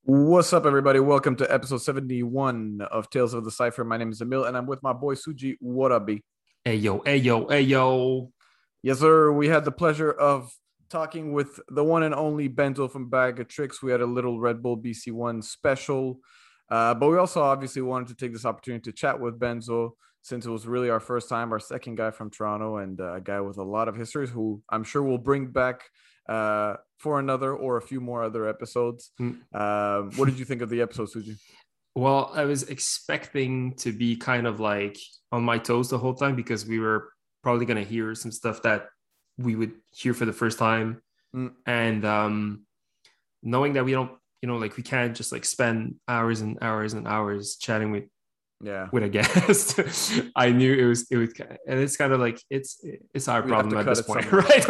What's up, everybody? Welcome to episode 71 of Tales of the Cypher. My name is Emil, and I'm with my boy Suji. What up, B? Hey yo, hey yo, hey yo. Yes, sir. We had the pleasure of talking with the one and only Benzo from Bag of Tricks. We had a little Red Bull BC1 special, but we also obviously wanted to take this opportunity to chat with Benzo since it was really our first time, our second guy from Toronto, and a guy with a lot of histories who I'm sure we'll bring back for another or a few more other episodes. What did you think of the episode, Suji? Well, I was expecting to be kind of like on my toes the whole time because we were probably going to hear some stuff that we would hear for the first time. And knowing that we don't, like we can't just like spend hours and hours and hours chatting with a guest. I knew it was, and it's kind of like it's our problem at this point, right?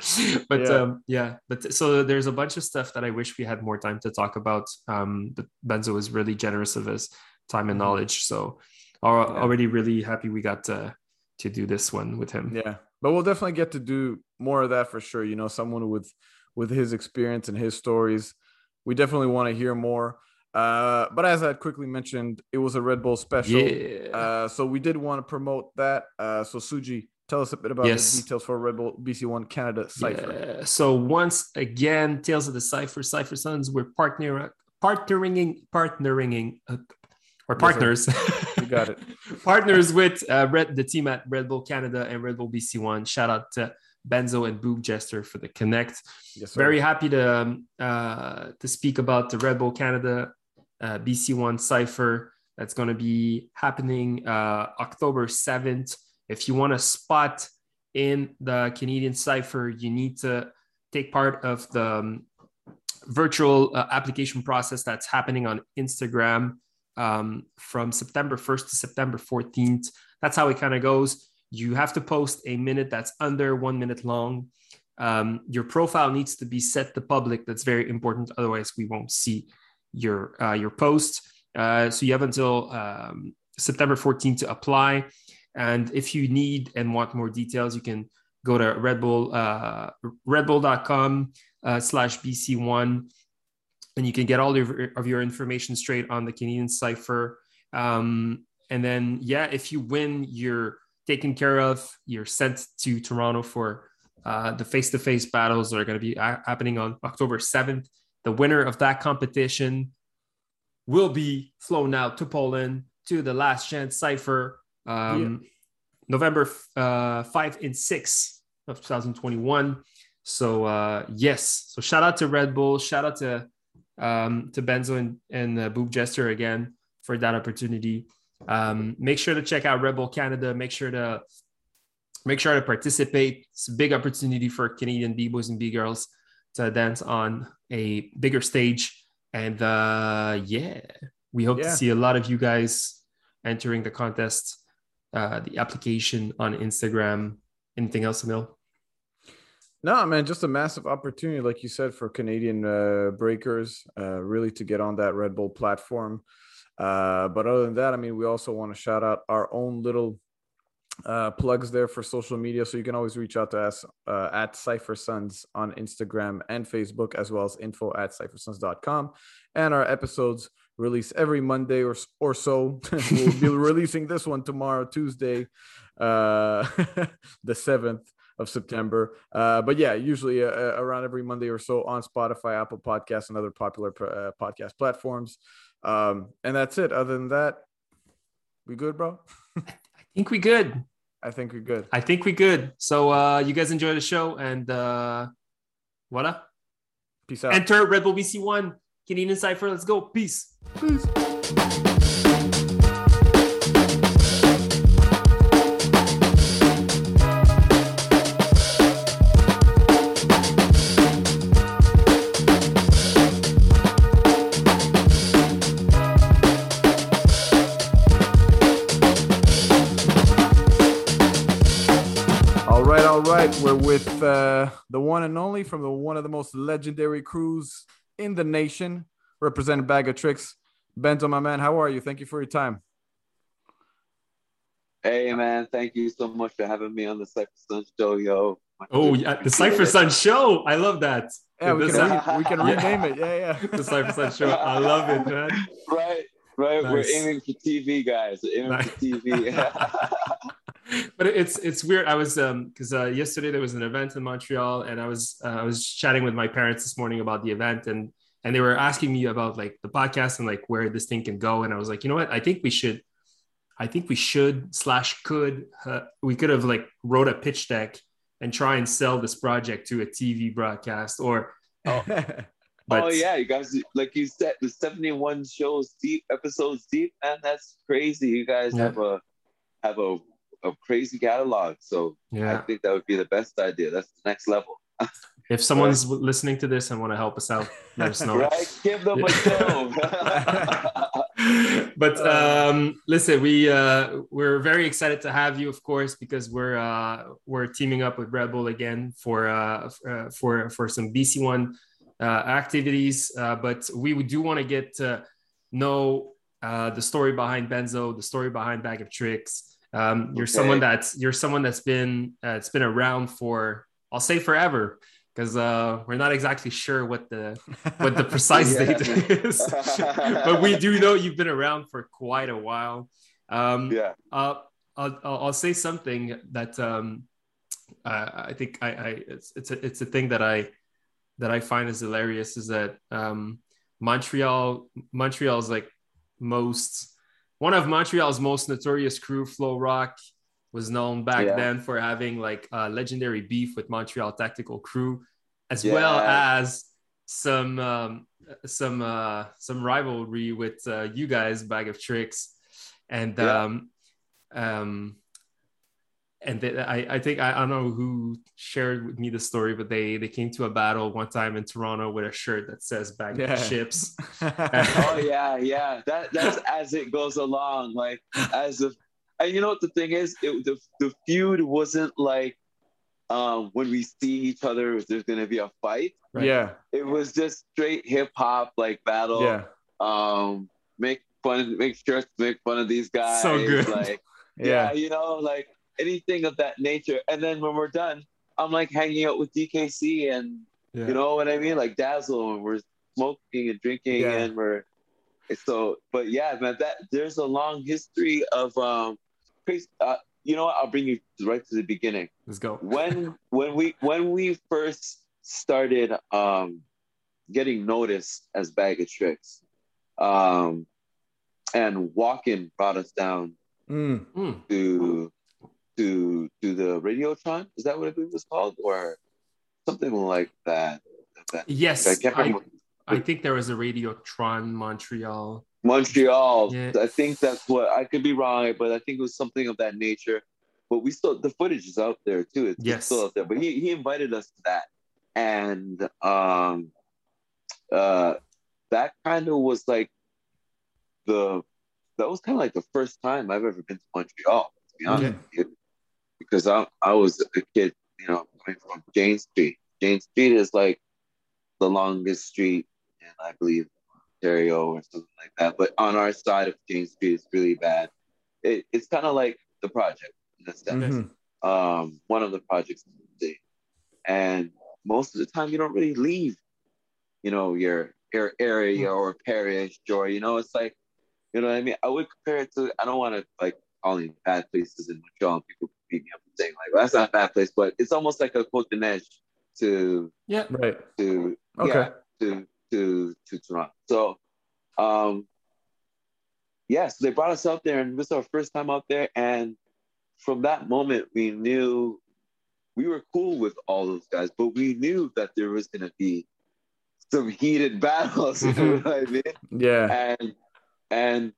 But so there's a bunch of stuff that I wish we had more time to talk about. But Benzo was really generous of his time and knowledge, so already really happy we got to do this one with him. Yeah, but we'll definitely get to do more of that for sure. You know, someone with his experience and his stories, we definitely want to hear more. But as I quickly mentioned, it was a Red Bull special. Yeah. So we did want to promote that. So Suji, tell us a bit about the details for Red Bull BC1 Canada Cypher. Yeah. So once again, Tales of the Cypher Sons, we're partnering or partners. You got it. Partners with the team at Red Bull Canada and Red Bull BC1. Shout out to Benzo and Boog Jester for the connect. Yes, very happy to speak about the Red Bull Canada BC1 Cypher that's going to be happening October 7th. If you want a spot in the Canadian Cypher, you need to take part of the virtual application process that's happening on Instagram from September 1st to September 14th. That's how it kind of goes. You have to post a minute that's under 1 minute long. Your profile needs to be set to public. That's very important. Otherwise, we won't see your post. So you have until September 14th to apply. And if you need and want more details, you can go to redbull.com/BC1, and you can get all of your information straight on the Canadian Cypher. And then, if you win, you're taken care of. You're sent to Toronto for the face-to-face battles that are going to be happening on October 7th. The winner of that competition will be flown out to Poland to the Last Chance Cypher November 5 and 6 of 2021. So so shout out to Red Bull, shout out to Benzo and Boog Jester again for that opportunity. Make sure to check out Red Bull Canada. Make sure to participate. It's a big opportunity for Canadian B-boys and B-girls to dance on a bigger stage. And we hope to see a lot of you guys entering the contest, the application on Instagram. Anything else, Emil? No, man, just a massive opportunity, like you said, for Canadian breakers, really to get on that Red Bull platform. But other than that, I mean, we also want to shout out our own little plugs there for social media. So you can always reach out to us at Cypher Sons on Instagram and Facebook, as well as info@cyphersons.com. And our episodes release every Monday or so. We'll be releasing this one tomorrow, Tuesday, the 7th of September. But usually around every Monday or so on Spotify, Apple Podcasts, and other popular podcast platforms. And that's it. Other than that, we good, bro? I think we good. I think we good. So you guys enjoy the show, and voila. Peace out. Enter Red Bull BC1 Canadian Cypher. Let's go. Peace. All right. We're with the one and only from one of the most legendary crews in the nation, representing Bag of Tricks. Benzo, my man, how are you? Thank you for your time. Hey, man. Thank you so much for having me on the Cypher Sons show, yo. Oh yeah, the Cypher Sun Show. I love that. Yeah, we The can rename it. Yeah, the Cypher Sun Show. I love it, man. Right, right. We're Nice. aiming for TV, guys. We're aiming Nice. for TV. But it's weird. I was because yesterday there was an event in Montreal, and I was chatting with my parents this morning about the event, and they were asking me about like the podcast and like where this thing can go, and I was like, you know what, I think we should / could we could have like wrote a pitch deck and try and sell this project to a TV broadcast or But, oh yeah, you guys, like you said, the 71 episodes deep, man. That's crazy. You guys have a crazy catalog. So I think that would be the best idea. That's the next level. If someone's listening to this and want to help us out, let us know. Right, give them a show. But listen, we're very excited to have you, of course, because we're teaming up with Red Bull again for some BC1 activities. But we do want to get to know the story behind Benzo, the story behind Bag of Tricks. You're someone that's been around for, I'll say, forever. Because we're not exactly sure what the precise date is, but we do know you've been around for quite a while. I'll say something that I think it's a thing that I find is hilarious is that Montreal is like one of Montreal's most notorious crew, Flow Rock, was known back then for having like a legendary beef with Montreal Tactical Crew, as well as some rivalry with you guys, Bag of Tricks, and I think I don't know who shared with me the story, but they came to a battle one time in Toronto with a shirt that says "Bag of Chips." Oh yeah. That's as it goes along, like as if. And you know what the thing is? The feud wasn't like when we see each other, there's gonna be a fight. Right? Yeah. It was just straight hip hop like battle. Yeah. Make sure to make fun of these guys. So good. Like you know, like anything of that nature. And then when we're done, I'm like hanging out with DKC and you know what I mean? Like Dazzle, and we're smoking and drinking and we're but yeah, man, there's a long history of you know what? I'll bring you right to the beginning. Let's go. When we first started getting noticed as Bag of Tricks, and Walken brought us down to the Radiotron. Is that what it was called, or something like that? Yes, I think there was a Radiotron Montreal. Yeah. I think that's what, I could be wrong, but I think it was something of that nature. But we still, the footage is out there too. It's still out there. But he invited us to that, and that kind of was like that was kind of like the first time I've ever been to Montreal, to be honest with you, because I was a kid, you know, coming from Jane Street. Jane Street is like the longest street in, I believe, Ontario or something like that. But on our side of Jane Street, it's really bad. It's kind of like the project in a sense. One of the projects in the city. And most of the time, you don't really leave, you know, your area or parish, or, you know, it's like, you know what I mean? I would compare it to, I don't want to like calling bad places in Montreal and people beat me up and saying like, well, that's not a bad place, but it's almost like a Côte d'Ivoire to Toronto. So so they brought us out there, and this was our first time out there, and from that moment we knew we were cool with all those guys, but we knew that there was going to be some heated battles, you know what I mean? Yeah. And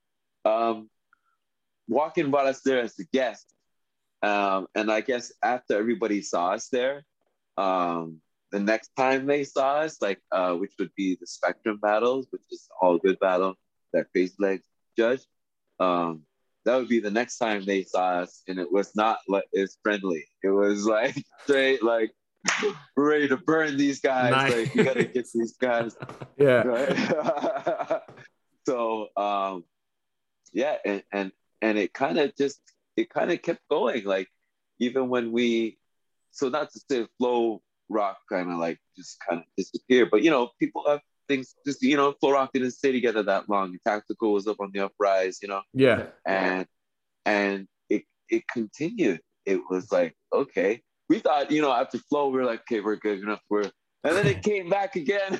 Walken brought us there as a guest, and I guess after everybody saw us there, the next time they saw us, like which would be the Spectrum battles, which is all good battle that Crazy Legs judge, that would be the next time they saw us, and it was not like it's friendly. It was like straight like we're ready to burn these guys. Nice. Like we gotta get these guys. Yeah. Right? So and it kind of kept going. Like even when we so not to say Flow Rock kind of like just kind of disappeared, but people have things just Flow Rock didn't stay together that long. Tactical was up on the uprise, Yeah. and it continued. It was like, okay, we thought after Flow we were like, okay, we're good enough, and then it came back again.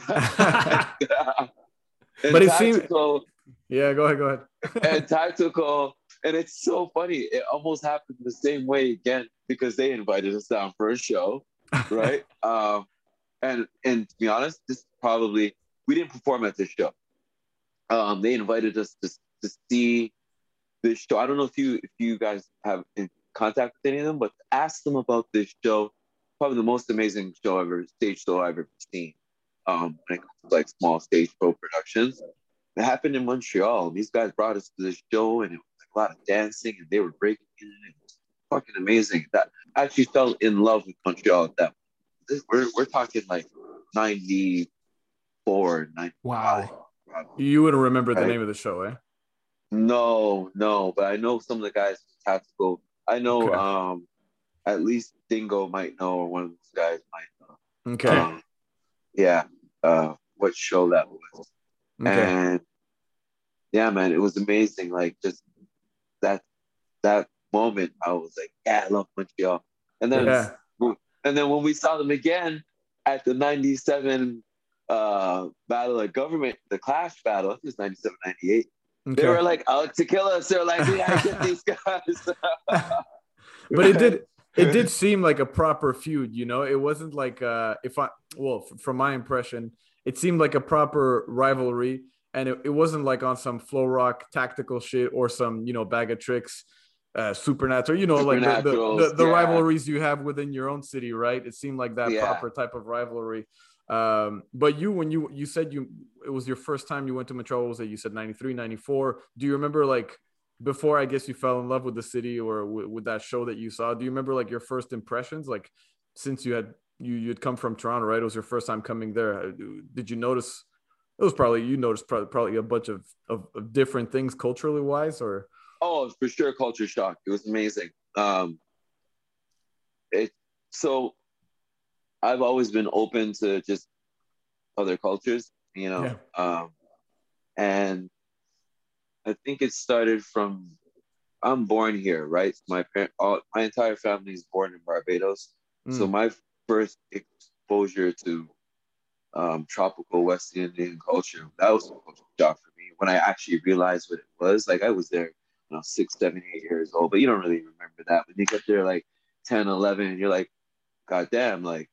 But it seemed, yeah, go ahead. And Tactical, and it's so funny. It almost happened the same way again because they invited us down for a show, right? And to be honest, this probably we didn't perform at this show. They invited us to see this show. I don't know if you guys have in contact with any of them, but ask them about this show. Probably the most amazing stage show I've ever seen. When it comes to like small stage show productions. It happened in Montreal. These guys brought us to this show, and it was like a lot of dancing, and they were breaking in. It was fucking amazing. That I actually fell in love with Montreal at that point. We're talking like 94, 95. Wow. You wouldn't remember the name of the show, eh? No, but I know some of the guys from Tactical. I know at least Dingo might know, or one of those guys might know. Okay. What show that was. Okay. And yeah, man, it was amazing. Like just that moment, I was like, yeah, I love Montreal. And then when we saw them again at the 97 Battle of Government, the Clash battle, I think it was 97, 98. Okay. They were like out to kill us. They were like, we gotta get these guys. But it did seem like a proper feud, It wasn't like from my impression, it seemed like a proper rivalry, and it wasn't like on some Flow Rock tactical shit or some bag of tricks, supernatural, like the rivalries you have within your own city, right? It seemed like that proper type of rivalry. But when you said it was your first time you went to Montreal, was it you said 93, 94? Do you remember like before I guess you fell in love with the city or with that show that you saw? Do you remember like your first impressions, like since you'd come from Toronto, right? It was your first time coming there. Did you notice? It was probably probably a bunch of different things culturally wise, or for sure, culture shock. It was amazing. So I've always been open to just other cultures, and I think it started from I'm born here, right? My entire family is born in Barbados, so my first exposure to tropical West Indian culture, that was a culture shock for me when I actually realized what it was. Like I was there, 6, 7, 8 years old, but you don't really remember that. When you get there like 10, 11, and you're like, God damn, like,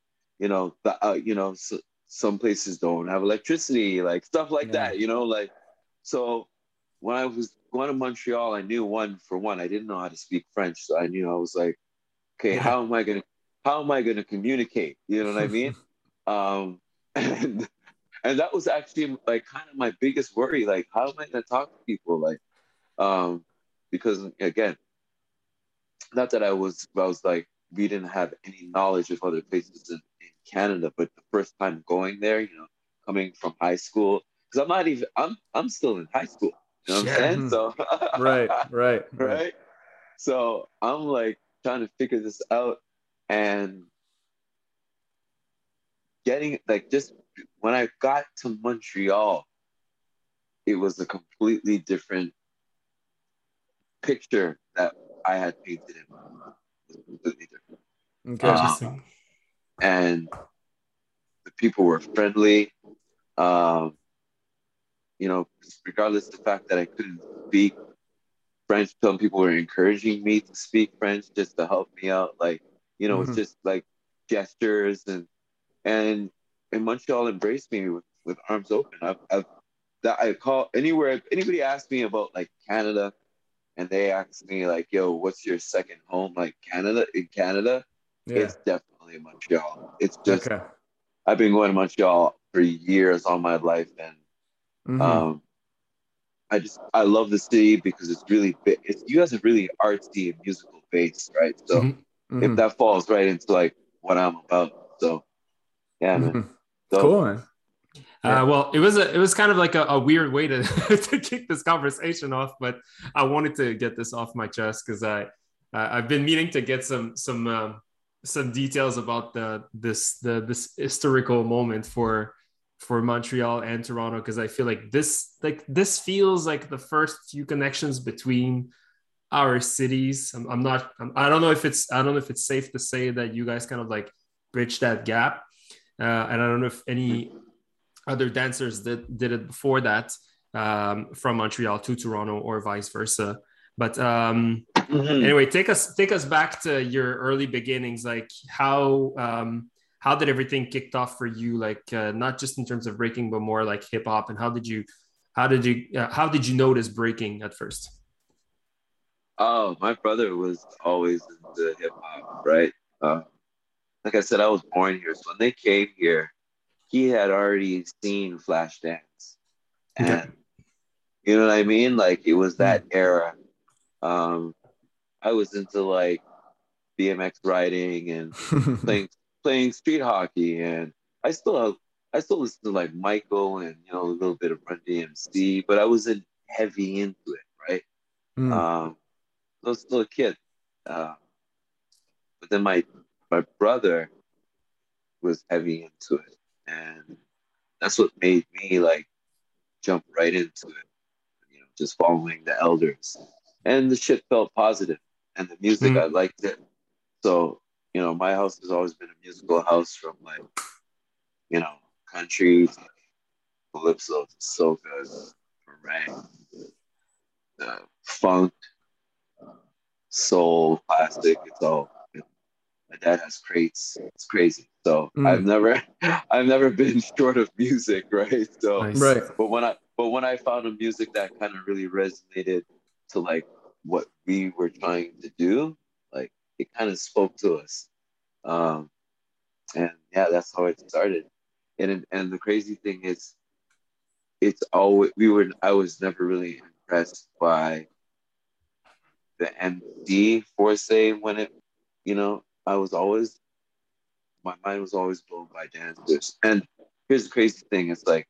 some places don't have electricity, like stuff like that, like, so when I was going to Montreal, I knew I didn't know how to speak French. So I was like, okay, how am I going to communicate? You know what I mean? And that was actually like kind of my biggest worry. Like, how am I going to talk to people? Like, because again, not that I was like, we didn't have any knowledge of other places in Canada, but the first time going there, coming from high school, because I'm still in high school. You know what I'm saying? So right. So I'm like trying to figure this out, and getting like just when I got to Montreal, it was a completely different picture that I had painted in my mind. It was completely different. Okay. Interesting. And the people were friendly. Regardless of the fact that I couldn't speak French, some people were encouraging me to speak French just to help me out. Like, it's just like gestures and Montreal embraced me with arms open. I call anywhere, anybody asks me about like Canada and they ask me like, yo, what's your second home? Like in Canada, it's definitely Montreal. It's just, I've been going to Montreal for years all my life. And I love the city because it's really big. You guys are really artsy and musical base, right? So if that falls right into like what I'm about. So yeah, man. So, cool, man. Well, it was kind of like a weird way to to kick this conversation off, but I wanted to get this off my chest because I've been meaning to get some some details about this historical moment for Montreal and Toronto, because I feel like this feels like the first few connections between our cities. I don't know if it's safe to say that you guys kind of like bridge that gap, and I don't know if any other dancers that did it before that, from Montreal to Toronto or vice versa. But anyway, take us back to your early beginnings. Like how did everything kicked off for you? Like not just in terms of breaking, but more like hip hop. And how did you notice breaking at first? Oh, my brother was always into hip hop, right? Like I said, I was born here, so when they came here, he had already seen Flashdance, Okay. and you know what I mean. Like it was that era. I was into like BMX riding and playing playing street hockey, and I still I still listen to like Michael and you know a little bit of Run DMC, but I wasn't heavy into it, right? Mm. I was still a kid, but then my brother was heavy into it, and that's what made me like jump right into it. You know, just following the elders, and the shit felt positive, and the music I liked it. So you know, my house has always been a musical house from like you know country to calypso to soca, meringue, funk, soul, plastic. It's all. You know, my dad has crates. It's crazy. So Mm. I've never been short of music, right? So, Nice. Right. but when I found a music that kind of really resonated to like what we were trying to do, like it kind of spoke to us. Um, and yeah, that's how it started. And the crazy thing is, it's always I was never really impressed by the MD Force when it, you know, my mind was always blown by dancers. And here's the crazy thing: it's like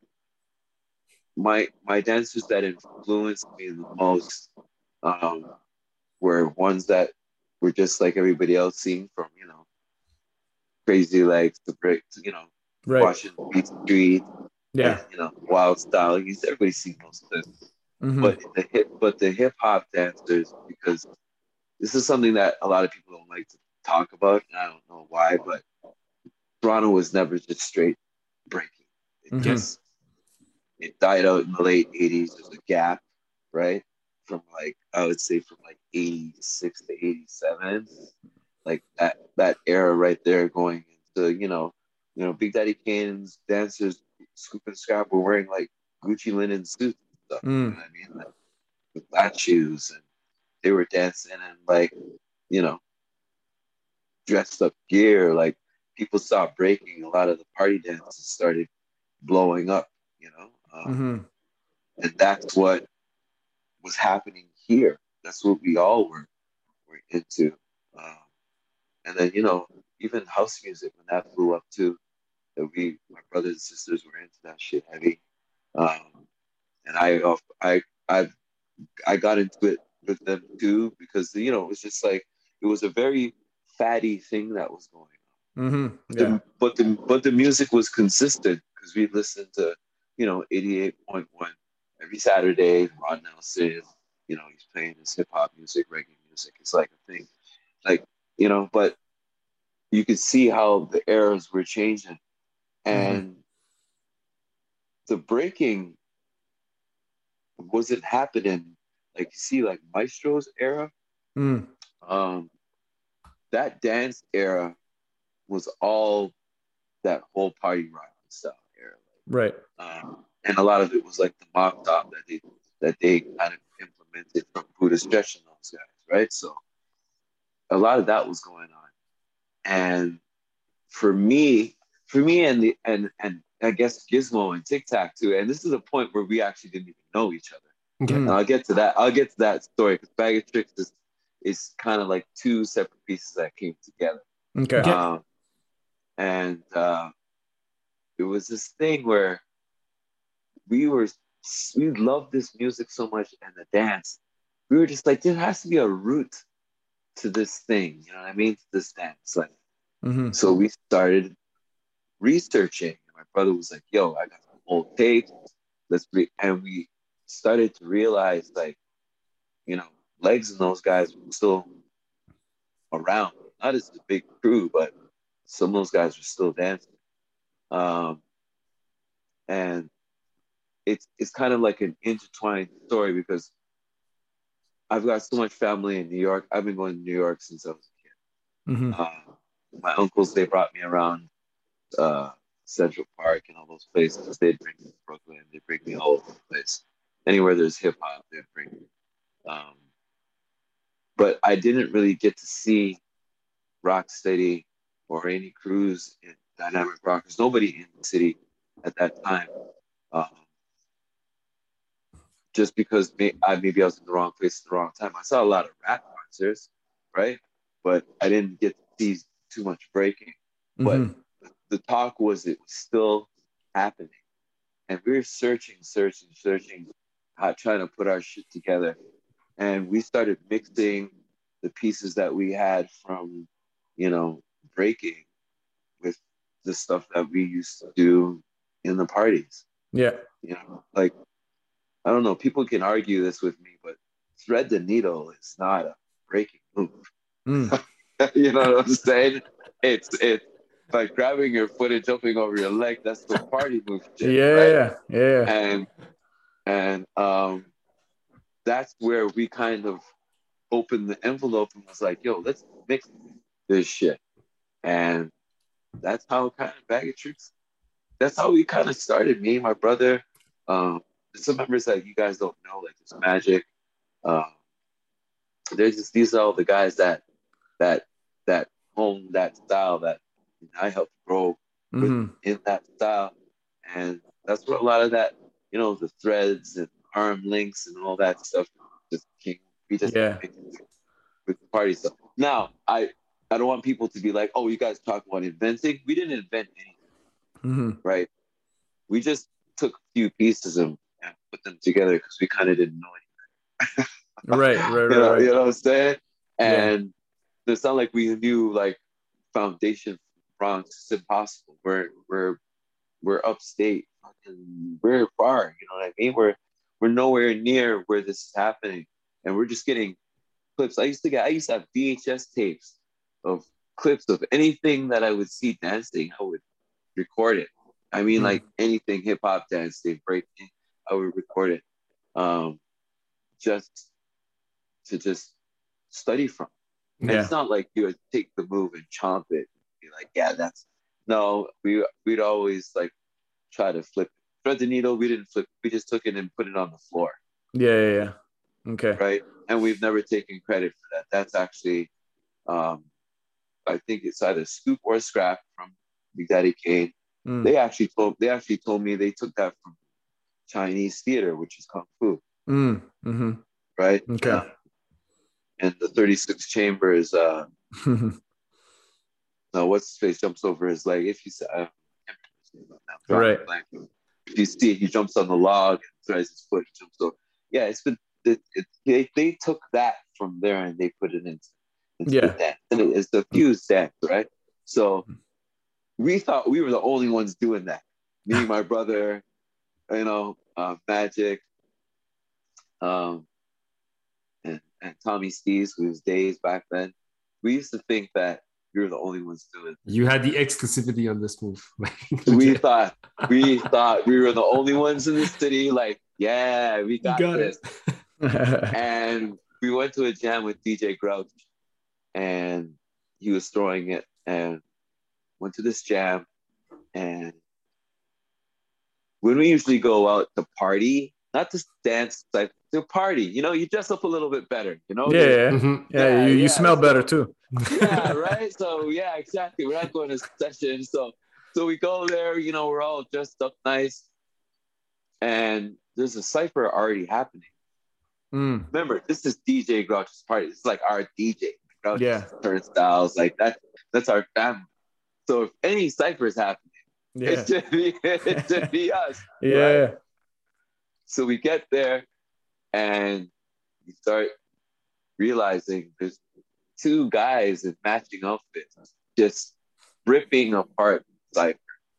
my dancers that influenced me the most um, were ones that were just like everybody else, seeing from you know Crazy Legs to Brick, to, you know, Right. Washington Beat Street, and Yeah. you know Wild Style. Everybody's seen those clips. Mm-hmm. But the hip hop dancers, because this is something that a lot of people don't like to talk about, and I don't know why, but Toronto was never just straight breaking. It Mm-hmm. just it died out in the late '80s. There's a gap, right? From like I would say from like '86 to '87, like that era right there, going into Big Daddy Kane's dancers, Scoop and Scrap were wearing like Gucci linen suits and stuff. You know Mm. what I mean? Like with flat shoes, and they were dancing in like you know dressed up gear. Like people stopped breaking. A lot of the party dances started blowing up. You know. Mm-hmm. And that's what was happening here. That's what we all were into. Um, and then even house music when that blew up too. That my brothers and sisters were into that shit heavy. And I I got into it with them too because it was just like it was a very fatty thing that was going on. Mm-hmm. Yeah. But the music was consistent because we listened to 88.1 every Saturday. Ron Nelson, he's playing his hip hop music, reggae music. It's like a thing, like but you could see how the eras were changing, Mm-hmm. and the breaking wasn't happening like you see like Maestro's era. Mm. Um, that dance era was all that whole party rock style era. Right. And a lot of it was like the mock top that they kind of implemented from Buddha Stretch and those guys, right? So a lot of that was going on. And for me and I guess Gizmo and Tic Tac too, and this is a point where we actually didn't even know each other. Okay. And I'll get to that story because Bag of Tricks is kind of like two separate pieces that came together. Okay. Okay. And it was this thing where we loved this music so much and the dance. We were just like, there has to be a root to this thing, you know what I mean? To this dance. Like Mm-hmm. So we started researching. My brother was like, "Yo, I got some old tapes. Let's read." And we started to realize, like, you know, Legs and those guys were still around. Not as a big crew, but some of those guys were still dancing. Um, and it's kind of like an intertwined story because I've got so much family in New York. I've been going to New York since I was a kid. Mm-hmm. My uncles, they brought me around uh, Central Park and all those places. They'd bring me to Brooklyn. They'd bring me all over the place. Anywhere there's hip hop, they'd bring me. Um, but I didn't really get to see Rocksteady or any crews in Dynamic Rockers. Nobody in the city at that time. Um, just because maybe I was in the wrong place at the wrong time. I saw a lot of rap concerts, right? But I didn't get to see too much breaking. But Mm-hmm. the talk was it was still happening. And we were searching, trying to put our shit together. And we started mixing the pieces that we had from, breaking with the stuff that we used to do in the parties. Yeah. Like, I don't know, people can argue this with me, but thread the needle is not a breaking move. Mm. You know what I'm saying? It's like grabbing your foot and jumping over your leg. That's the party move shit, right? Yeah. Yeah. And that's where we kind of opened the envelope and was like, yo, let's mix this shit. And that's how kind of Bag of Tricks, that's how we kind of started. Me and my brother, some members that you guys don't know, like this Magic. These are all the guys that hone that style that I helped grow Mm-hmm. in that style. And that's where a lot of that, the threads and arm links and all that stuff just came. We just Yeah. with the party stuff. Now, I don't want people to be like, oh, you guys talk about inventing. We didn't invent anything, Mm-hmm. right? We just took a few pieces and put them together because we kind of didn't know anything. Right. You know what I'm saying? Yeah. And it's not like we knew like foundation Bronx. It's impossible. We're upstate. We're far. You know what I mean? We're nowhere near where this is happening, and we're just getting clips. I used to have VHS tapes of clips of anything that I would see dancing. I would record it. I mean, like anything hip hop dancing, breaking, I would record it, just to study from. And Yeah. it's not like you would take the move and chomp it. Be like, yeah, that's no. We'd always like try to flip it. Thread the needle. We didn't flip. We just took it and put it on the floor. Yeah. Okay. Right. And we've never taken credit for that. That's actually, I think it's either Scoop or Scrap from Big Daddy Kane. They actually told me they took that from Chinese theater, which is kung fu. Mm-hmm. Right. Okay. And the 36 chambers. No, what's his face jumps over his leg. If you say, Right. If you see it, he jumps on the log and throws his foot. Jumps over. Yeah, they took that from there and they put it into the dance. And it's the fused dance, right? So we thought we were the only ones doing that. Me, my brother, Magic, and Tommy Steves, who's days back then. We used to think that we were the only ones doing it. You had the exclusivity on this move. we thought we were the only ones in the city. Like, yeah, we got this. And we went to a jam with DJ Grouch, and he was throwing it, and went to this jam. And when we usually go out to party, not to dance, like to party, you dress up a little bit better, Yeah. You smell better too. Yeah, right. So yeah, exactly. We're not going to session, so we go there. We're all dressed up nice, and there's a cipher already happening. Remember, this is DJ Grouch's party. It's like our DJ. Grouch's turnstiles, like that. That's our family. So if any cipher is happening, it should be us. Yeah. Right? So we get there, and we start realizing there's two guys in matching outfits just ripping apart Cypher.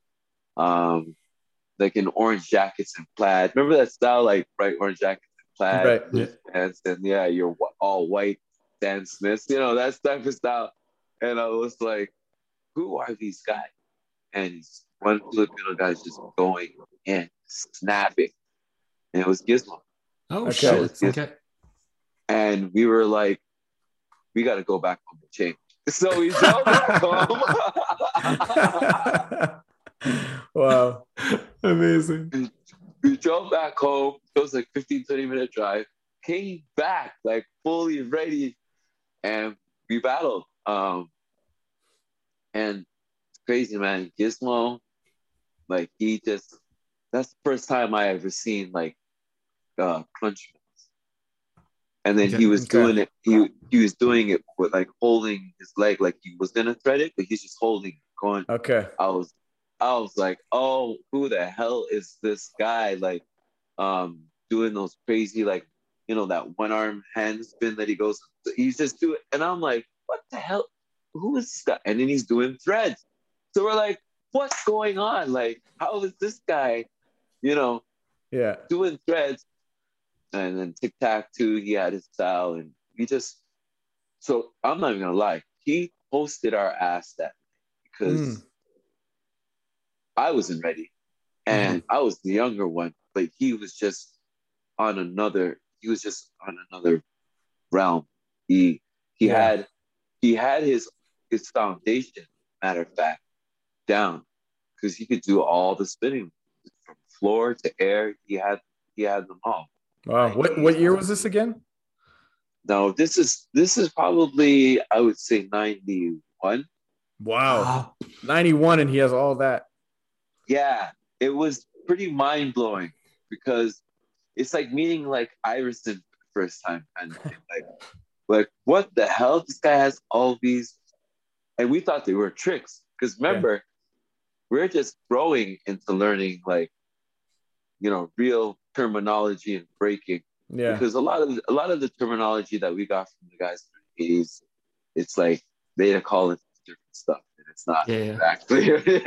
Like in orange jackets and plaid. Remember that style, like bright orange jackets and plaid, Right. Yeah. pants, and yeah, you're all white Stan Smiths, you know, that type of style. And I was like, who are these guys? And one Filipino guy's just going in, snapping. And it was Gizmo. Oh, Okay. shit. Okay. And we were like, we got to go back home to change. So we drove back home. Wow. Amazing. We drove back home. It was like 15, 20-minute drive. Came back like fully ready. And we battled. And it's crazy, man. Gizmo, like that's the first time I ever seen like crunch. And then he was doing it. He was doing it with like holding his leg, like he was gonna thread it, but he's just holding it, going. Okay. I was like, oh, who the hell is this guy? Like, doing those crazy, like, you know, that one arm hand spin that he goes. He's just doing, and I'm like, what the hell? Who is this guy? And then he's doing threads. So we're like, what's going on? Like, how is this guy, you know, doing threads? And then Tic Tac too, he had his style, and so I'm not even gonna lie, he hosted our ass that night because I wasn't ready, and I was the younger one, but he was just on another realm. He had his foundation, matter of fact, down, because he could do all the spinning from floor to air. He had them all. Wow. What year was this again? No, this is probably, I would say, 91. Wow. 91, and he has all that. Yeah, it was pretty mind-blowing because it's like meeting like Iverson for the first time, and like what the hell? This guy has all these, and we thought they were tricks because remember, we're just growing into learning, like, you know, real terminology and breaking. Yeah. Because a lot of the terminology that we got from the guys in the 80s, it's like they call it different stuff, and it's not exactly.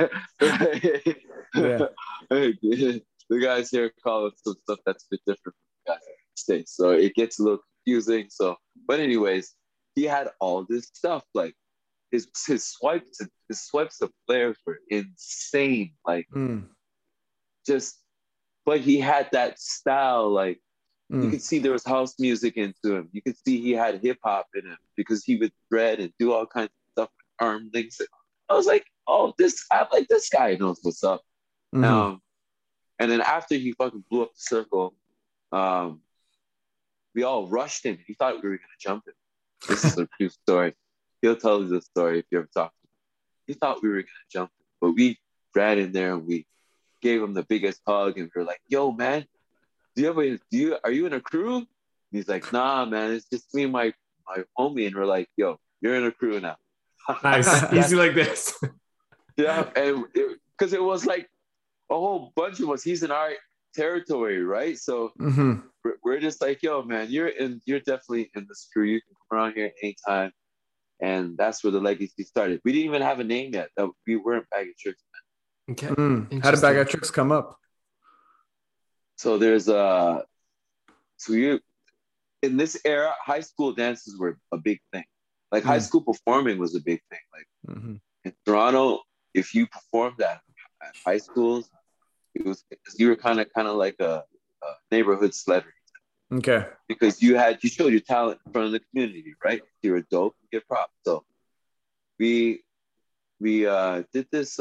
The guys here call it some stuff that's a bit different from the guys in the States, so it gets a little confusing. So, but anyways, he had all this stuff, like his swipes of players were insane, like just. But he had that style, like you could see there was house music into him. You could see he had hip hop in him because he would thread and do all kinds of stuff with arm links. I was like, oh, I like this guy knows what's up. And then after he fucking blew up the circle, we all rushed him. He thought we were gonna jump him. This is a true story. He'll tell you the story if you ever talk to him. He thought we were gonna jump him, but we ran in there and we gave him the biggest hug, and we were like, yo, man, are you in a crew? And he's like, nah, man, it's just me and my homie. And we're like, yo, you're in a crew now. Nice. Easy like this. Yeah, and because it was like a whole bunch of us. He's in our territory, right? So we're just like, yo, man, you're definitely in this crew. You can come around here anytime. And that's where the legacy started. We didn't even have a name yet. We weren't Bag of Tricks, man. Okay. How did Bag of Tricks come up? So there's in this era, high school dances were a big thing. Like high school performing was a big thing. Like in Toronto, if you performed at high schools, you were kind of like a neighborhood celebrity. Okay. Because you showed your talent in front of the community, right? You were dope, you get props. So we did this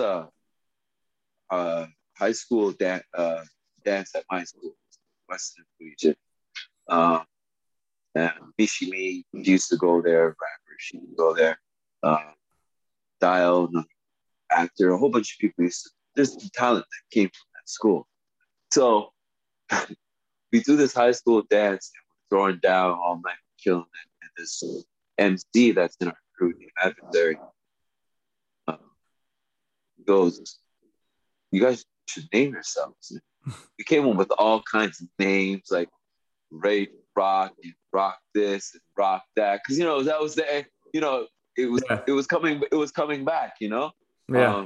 high school dance at my school, Western Collegiate. And Mishimi used to go there, rapper, she would go there. Dial, actor, a whole bunch of people there's talent that came from that school. So we do this high school dance and we're throwing down all night, killing it. And this MC that's in our crew, the adversary, goes, you guys should name yourselves. We came up with all kinds of names like Ray Rock and Rock this and Rock that, because that was the it was coming back, Yeah.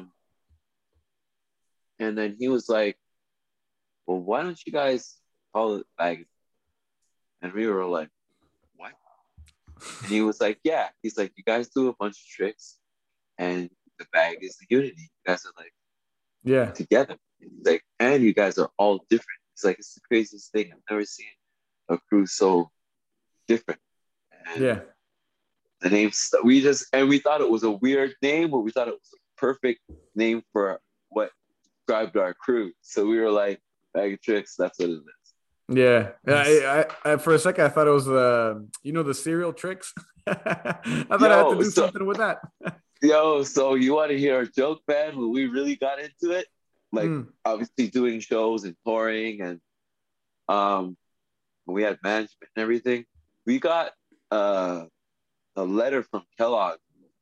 And then he was like, well, why don't you guys call it bag? And we were like, what? And he was like, yeah. He's like, you guys do a bunch of tricks, and the bag is the unity. You guys are like Yeah. together. And he's like, and you guys are all different. It's like, it's the craziest thing. I've never seen a crew so different. And Yeah. the name, we thought it was a weird name, but we thought it was a perfect name for what described our crew. So we were like, Bag of Tricks, that's what it is. Yeah. Nice. I for a second I thought it was the cereal tricks. I thought I had to Yo, do something with that. so you want to hear a joke, man? When we really got into it, like Mm. obviously doing shows and touring, and when we had management and everything, we got a letter from Kellogg.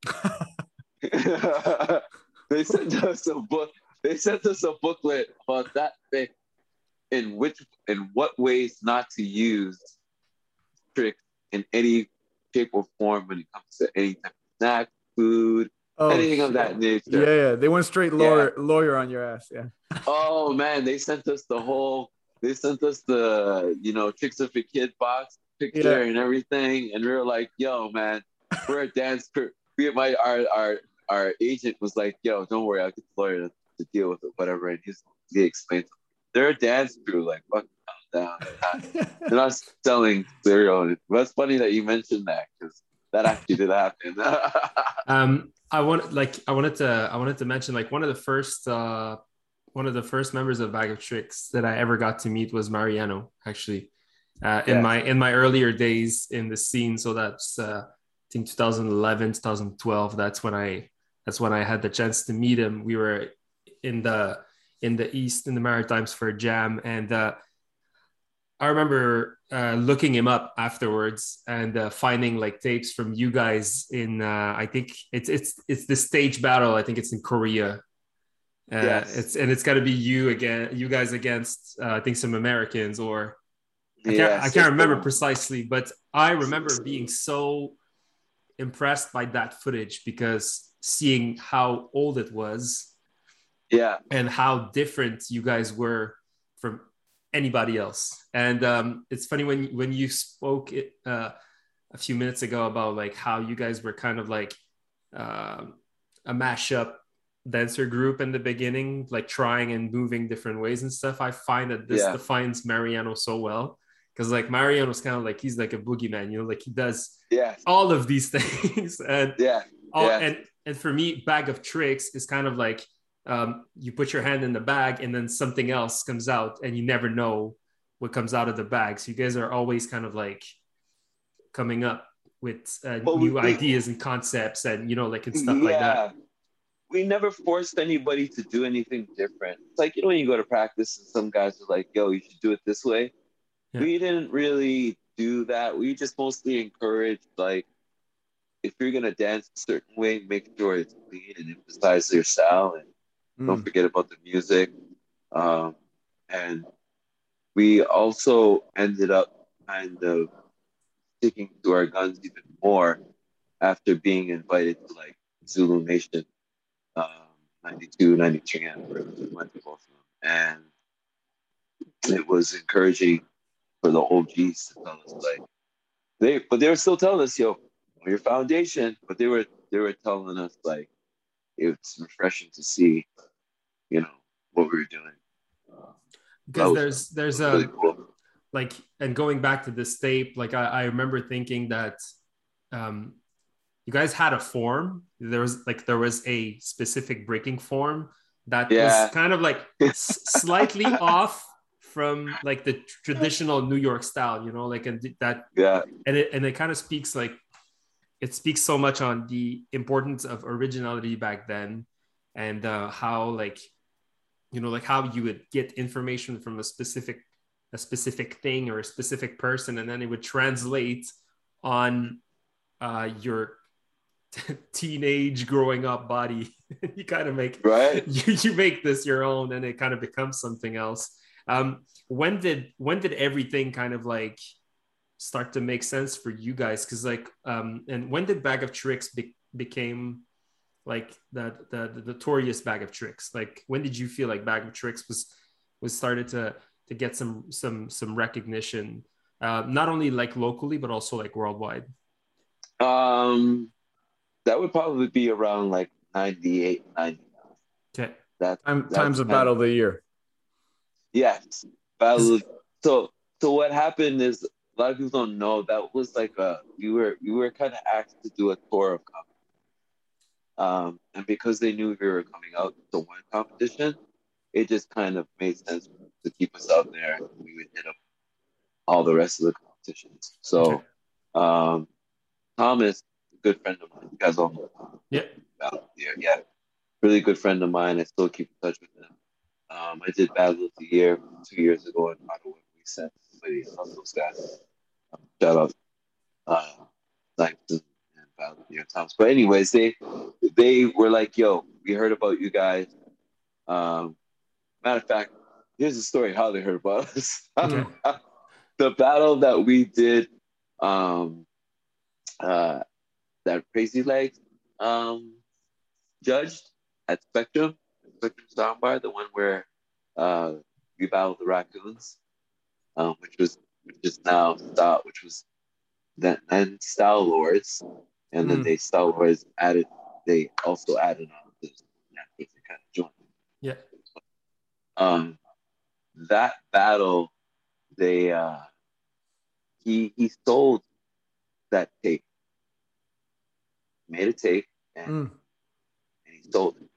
They sent us a book. They sent us a booklet about that thing, in what ways not to use tricks in any shape or form when it comes to any type of snack, food, Oh anything of shit. that nature. Yeah, they went straight Yeah. lawyer on your ass. Yeah. Oh man, they sent us the, tricks of a kid box Yeah. picture and everything. And we were like, yo, man, we're a dance crew. Our agent was like, yo, don't worry, I'll get the lawyer to deal with it, whatever. And he explained, they're a dance crew, like, fucking calm down. They're not selling cereal. But it's funny that you mentioned that, because that actually did happen. I wanted to mention, like, one of the first members of Bag of Tricks that I ever got to meet was Mariano, actually, in my earlier days in the scene. So that's I think 2011, 2012. That's when I had the chance to meet him. We were in the East, in the Maritimes, for a jam, and I remember looking him up afterwards and finding like tapes from you guys in I think it's the stage battle. I think it's in Korea. Yes. It's got to be you guys against I think some Americans, or I Yes. can't remember precisely, but I remember being so impressed by that footage, because seeing how old it was, Yeah. and how different you guys were from anybody else. And it's funny when you spoke a few minutes ago about like how you guys were kind of like a mashup dancer group in the beginning, like trying and moving different ways and stuff. I find that this defines Mariano so well, because like Mariano's kind of like, he's like a boogeyman, like he does all of these things. And and for me, Bag of Tricks is kind of like, you put your hand in the bag and then something else comes out, and you never know what comes out of the bag. So you guys are always kind of like coming up with new ideas and concepts, and like, and stuff like that. We never forced anybody to do anything different. It's like, when you go to practice and some guys are like, yo, you should do it this way. Yeah. We didn't really do that. We just mostly encouraged, like, if you're going to dance a certain way, make sure it's clean and emphasize your style, and don't forget about the music. And we also ended up kind of sticking to our guns even more after being invited to like Zulu Nation 92, 93, and went to both of them. And it was encouraging for the OGs to tell us, like, they were still telling us, yo, your foundation, but they were telling us, like, it's refreshing to see, what we were doing. Because there's a really cool. Like, and going back to this tape, like I remember thinking that you guys had a form. There was a specific breaking form that was kind of like slightly off from like the traditional New York style, like, and that, and it kind of speaks like, it speaks so much on the importance of originality back then, and how like, like how you would get information from a specific thing or a specific person, and then it would translate on your teenage growing up body. You kind of make you make this your own, and it kind of becomes something else. When did everything kind of like start to make sense for you guys? Because like and when did Bag of Tricks became like the notorious Bag of Tricks? Like, when did you feel like Bag of Tricks was started to get some recognition, not only like locally but also like worldwide? That would probably be around like 98, 90. Okay. Times of Battle of the Year. Yes. Battle. So what happened is a lot of people don't know that was like we were kind of asked to do a tour of comedy. And because they knew we were coming out to one competition, it just kind of made sense to keep us out there, and we would hit up all the rest of the competitions. So, Thomas, a good friend of mine, you guys all know Thomas. Yeah. Yeah, really good friend of mine. I still keep in touch with him. I did Battle of the Year 2 years ago in Ottawa. We sent somebody, those guys. Shout out, Langston and Battle of the Year Thomas. But anyways, they were like, "Yo, we heard about you guys." Matter of fact, here's the story how they heard about us. Okay. The battle that we did, that Crazy Legs judged at Spectrum Soundbar, the one where we battled the Raccoons, which was then Style Lords, and then Style Lords they also added on this kind of joint. Yeah. That battle, he sold that tape, made a tape, and he sold it.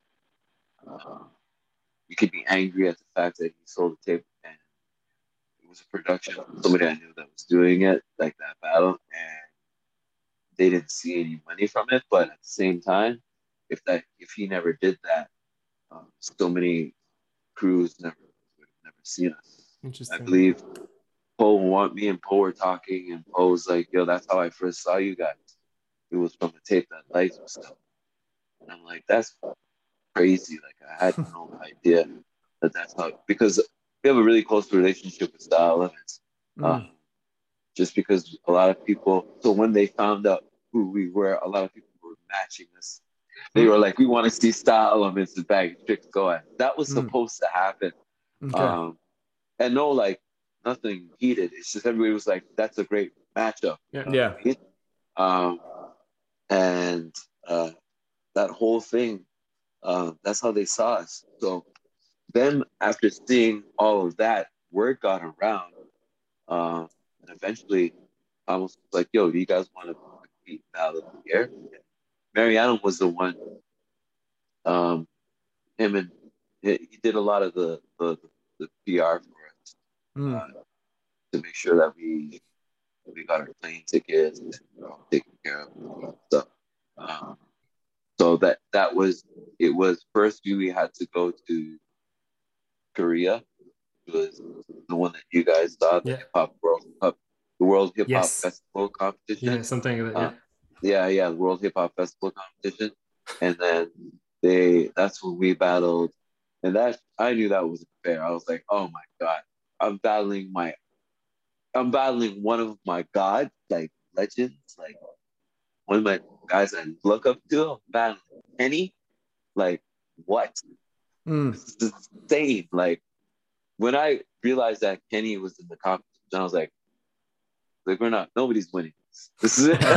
You could be angry at the fact that he sold the tape, and it was a production of somebody I knew that was doing it, like that battle, and they didn't see any money from it. But at the same time, if he never did that, so many crews would have never seen us. Interesting. I believe me and Poe were talking, and Poe was like, "Yo, that's how I first saw you guys. It was from the tape that Lights was still." And I'm like, "That's crazy." Like, I had no idea that's how, because we have a really close relationship with Style Limits. Just because a lot of people, so when they found out who we were, a lot of people were matching us. They were like, "We want to see Style Elements and Bag of Tricks going." That was supposed to happen. Okay. And no, like, nothing heated. It's just everybody was like, "That's a great matchup." Yeah. And that whole thing, that's how they saw us. So then after seeing all of that, word got around. And eventually I was like, "Yo, do you guys want to compete Battle of the Year?" Mariano was the one. Him and he did a lot of the PR for us, to make sure that we got our plane tickets and taken care of and stuff. So that was first we had to go to Korea. It was the one that you guys saw, the Hip Hop World Cup, the World Hip Hop Festival competition. Yeah, something like that. The World Hip Hop Festival competition, and then that's when we battled, and that I knew that wasn't fair. I was like, "Oh my god, I'm battling one of my gods, like legends, like one of my guys I look up to. I'm battling Kenny, like what? This is insane!" Like, when I realized that Kenny was in the competition, I was like, we're not, nobody's winning this is it.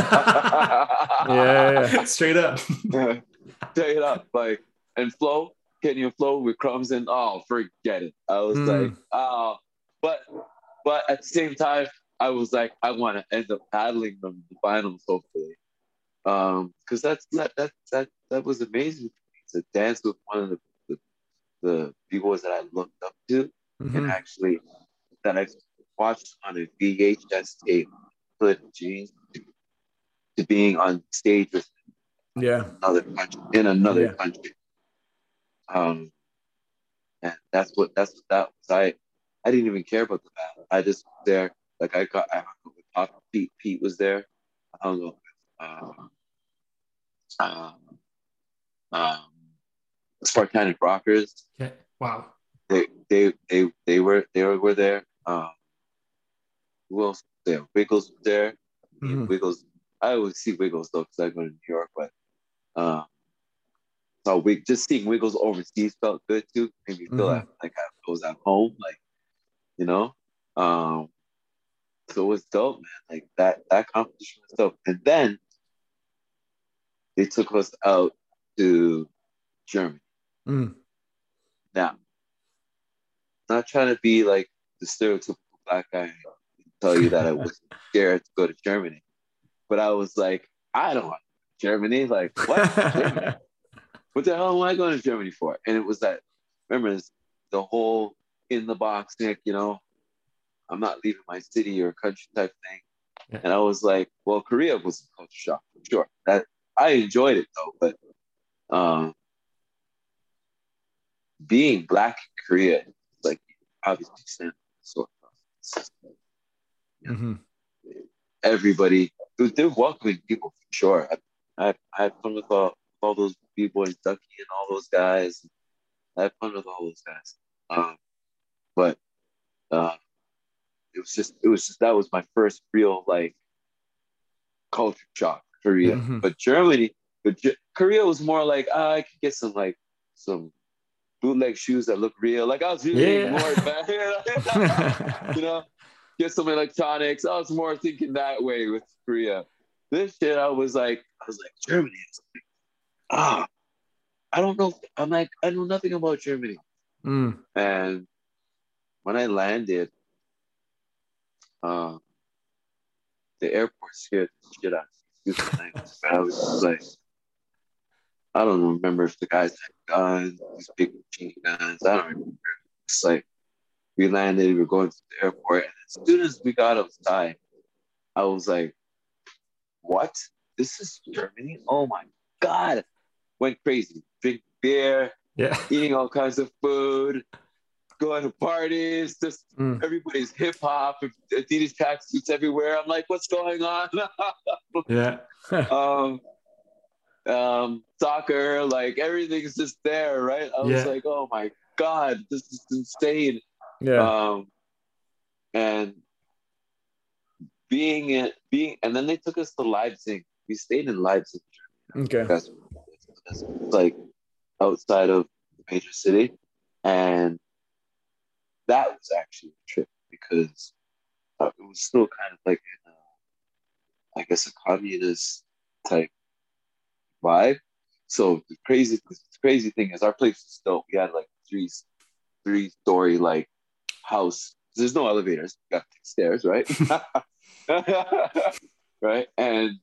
Yeah. Straight up. Straight up. Like, and Kenny and Flo with Crumbs, and forget it. I was like, but at the same time, I was like, I want to end up battling them in the finals, hopefully. Because that was amazing to dance with one of the people that I looked up to, and actually that I watched on a VHS tape, put James to being on stage with another country. And that was. I didn't even care about the battle. I just was there. Like, I hung out with Pop Pete. Pete was there. I hung out with Spartanic Rockers. Okay. Wow. They were there. Who else was there? Wiggles was there. Wiggles. I always see Wiggles though because I go to New York, but So just seeing Wiggles overseas felt good too. Made me feel like I was at home, like, you know. So it was dope, man. Like that competition was dope. And then they took us out to Germany. Mm. Now, not trying to be like the stereotypical black guy and tell you that I was scared to go to Germany, but I was like, I don't want Germany. Like, what? Germany? What the hell am I going to Germany for? And it was that, remember, the whole in the box thing, you know, I'm not leaving my city or country type thing. Yeah. And I was like, well, Korea was a culture shock for sure. That I enjoyed it though, but being black in Korea, like obviously stand sort of everybody, they're welcoming people for sure. I had fun with all those B-boys, Ducky and all those guys. I had fun with all those guys. But it was just that was my first real like culture shock, Korea. But Korea was more like I could get some bootleg shoes that look real. Like I was really more bad, you know, get some electronics. I was more thinking that way with Korea. This shit, I was like Germany. I don't know. I'm like, I know nothing about Germany. And when I landed, the airport scared the shit out of me. I was just like, I don't remember if the guys had guns, these big machine guns. I don't remember. It's like we landed, we were going to the airport, and as soon as we got outside, I was like, what? This is Germany? Oh my God. Went crazy. Drink beer, eating all kinds of food, going to parties, just everybody's hip hop, Adidas tracksuits everywhere. I'm like, what's going on? Soccer, like everything's just there, right? I was like, oh my God, this is insane. And and then they took us to Leipzig. We stayed in Leipzig. Okay. That's like outside of the major city. And that was actually a trip because it was still kind of like I guess a communist type vibe. So the crazy thing is our place was still, we had like three-story like house. There's no elevators. We got stairs, right? Right. And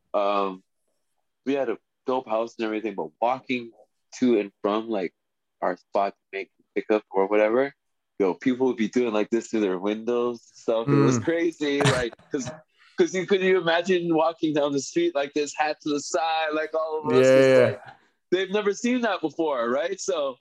we had a dope house and everything, but walking to and from like our spot to make the pickup or whatever, people would be doing like this to their windows and stuff. It was crazy, like because could you imagine walking down the street like this, hat to the side, like all of us? Like, they've never seen that before, right? So,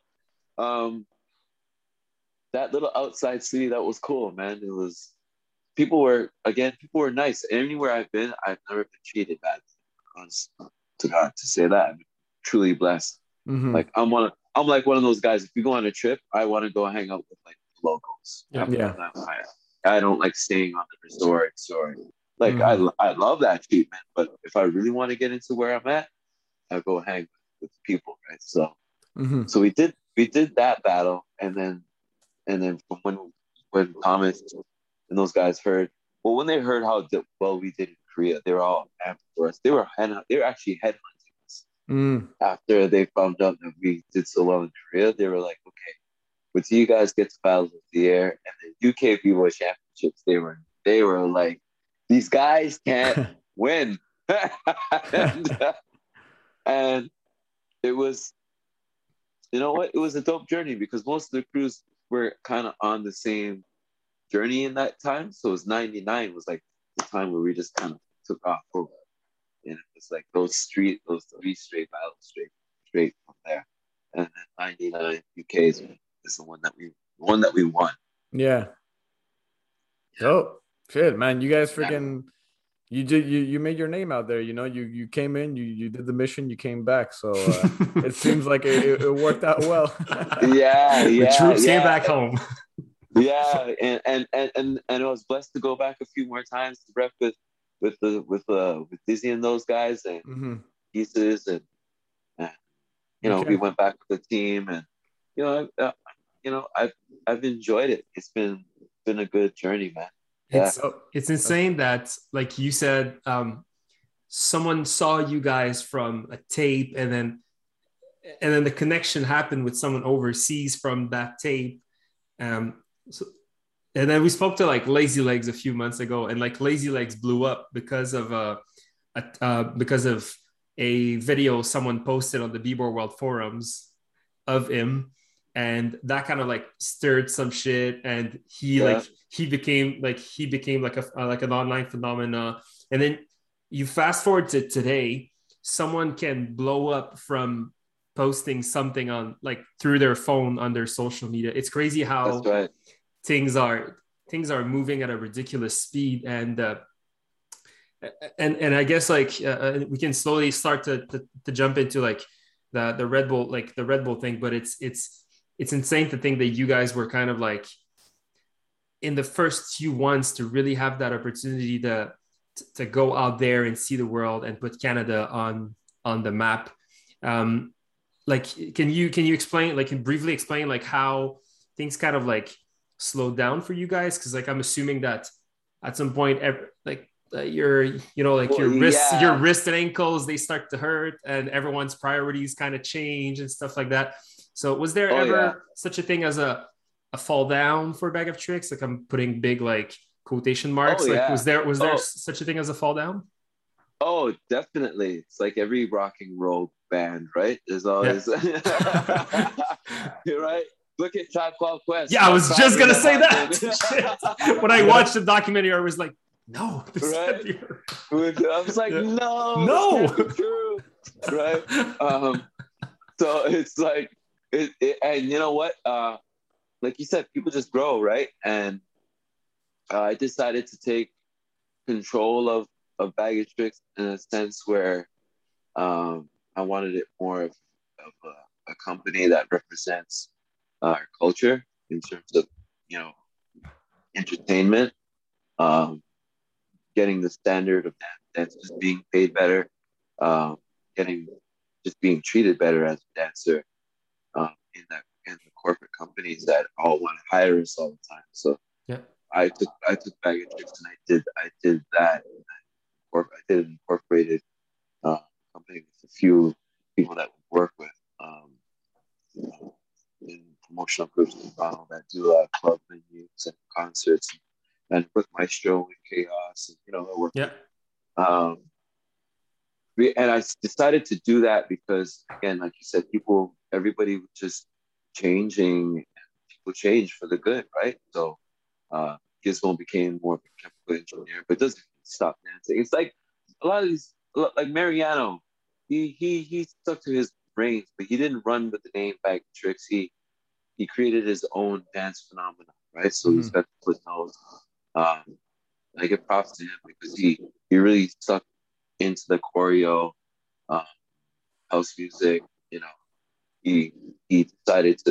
that little outside city, that was cool, man. It was people were nice. Anywhere I've been, I've never been treated badly. To God, to say that, I'm truly blessed. Like I'm like one of those guys. If you go on a trip, I want to go hang out with like locals. I don't like staying on the resorts or like I love that treatment. But if I really want to get into where I'm at, I go hang with people, right? So, so we did that battle, and then from when Thomas and those guys heard, well, when they heard how well we did in Korea, they were all amped for us. They were actually headhunting us. After they found out that we did so well in Korea, they were like, okay, but you guys get to Battles of the Air and the UK B-Boy Championships. They were like, these guys can't win. And it was, you know what? It was a dope journey because most of the crews were kind of on the same journey in that time. So it was 99 was like the time where we just kind of took off over. And it was like those three straight battles straight from there. And then 99 UK is the one that we won. Yeah. Oh shit, man. You guys freaking you made your name out there, you know. You came in, you did the mission, you came back. So it seems like it worked out well. The troops came back home. And I was blessed to go back a few more times to rep with Dizzy and those guys and pieces and you know, Okay. we went back with the team, and you know, I've enjoyed it. It's been a good journey, man. Yeah, It's insane that, like you said, someone saw you guys from a tape, and then the connection happened with someone overseas from that tape. So, and then we spoke to like Lazy Legs a few months ago, and like Lazy Legs blew up because of a video someone posted on the B-Board World forums of him, and that kind of like stirred some shit, and yeah, he became like an online phenomena. And then you fast forward to today, someone can blow up from posting something on like through their phone on their social media. It's crazy that's how right. things are moving at a ridiculous speed, and I guess like we can slowly start to jump into like the Red Bull, like the Red Bull thing. But it's insane to think that you guys were kind of like in the first few ones to really have that opportunity to go out there and see the world and put Canada on the map. Like, can you explain, like, can briefly explain like how things kind of like slowed down for you guys? Because like I'm assuming that at some point, your like Well, your yeah. wrist and ankles, they start to hurt, and everyone's priorities kind of change and stuff like that. So was there Oh yeah. ever such a thing as a fall down for Bag of Tricks? Like I'm putting big like quotation Oh marks. Like yeah. was there Oh such a thing as a fall down? oh, definitely. It's like every rock and roll band, right? There's Yeah. always you're right. Look at Tribe Called Quest. Yeah, I How was just badly gonna that say that. happened. Shit. When I watched the documentary, I was like, no, this can't Right? be her. I was like, Yeah. no, this No. can't be true. Right? So it's like and you know what? Like you said, people just grow, right? And I decided to take control of Baggage Tricks in a sense where I wanted it more of a company that represents our culture in terms of, you know, entertainment, um, getting the standard of dancers being paid better, um, getting just being treated better as a dancer in the corporate companies that all want to hire us all the time. So Yeah. I took Baggage Tricks and I did that. I did an incorporated company with a few people that we work with in promotional groups in Toronto that do club venues and concerts, and with Maestro and Chaos, and you know, I work Yeah. with. And I decided to do that because, again, like you said, everybody was just changing. People change for the good, right? So Gizmo became more of a chemical engineer, but doesn't stop dancing. It's like a lot of these, like Mariano, he stuck to his brains, but he didn't run with the name Bag of Tricks. He created his own dance phenomenon, right? So he's got the foot nose. I give props to him because he really stuck into the choreo, um, house music. You know, he decided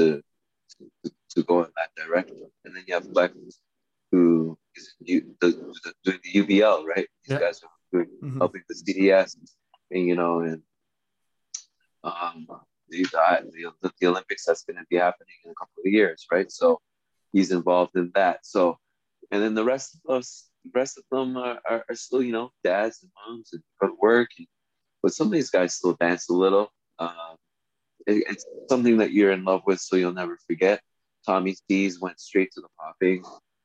to go in that direction. And then you have Flex, who is doing the UBL, right? These Yeah. guys are helping the CDS, and you know, and um, the Olympics that's going to be happening in a couple of years, right? So he's involved in that. So, and then the rest of them are still, you know, dads and moms and go to work. But some of these guys still dance a little. It's something that you're in love with, so you'll never forget. Tommy C's went straight to the popping,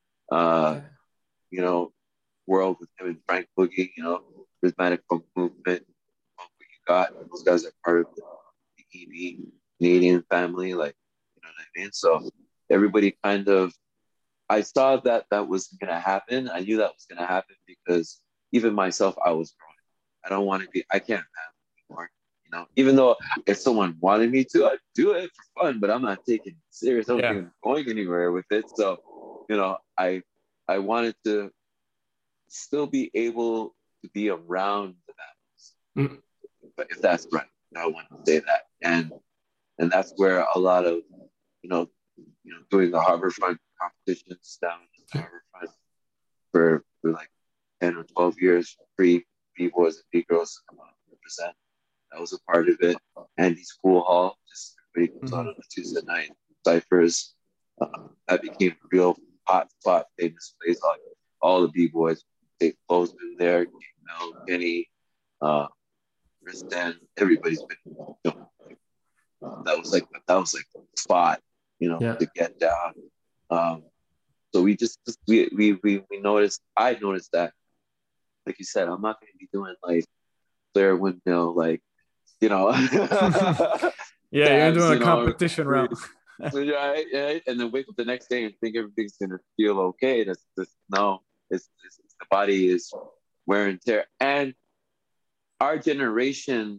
you know, world with him and Frank Boogie, you know, rhythmic funk movement. What you got, those guys are part of the EB Canadian family, like, you know what I mean? So everybody kind of, I saw that was going to happen. I knew that was going to happen because even myself, I was growing. I don't want to be, I can't have anymore. You know, even though if someone wanted me to, I'd do it for fun, but I'm not taking it serious. I don't think I'm going anywhere with it. So, you know, I wanted to still be able to be around the battles. But if that's right, I want to say that. And that's where a lot of, you know, doing the Harborfront competitions down in the Harborfront for like 10 or 12 years, free B-boys and B-girls to come out and represent. That was a part of it. Andy's Pool Hall. Just everybody goes Mm-hmm. on a Tuesday night ciphers. That became a real hot spot, famous place. All the b-boys, Dave Flo's been there, Mel, Kenny, Tristan, everybody's been. That was like the spot, to get down. So we noticed. I noticed that, like you said, I'm not going to be doing like Blair Windmill, like Yeah, you're tabs, doing a competition route. right? And then wake up the next day and think everything's gonna feel okay. No, it's the body is wear and tear. And our generation,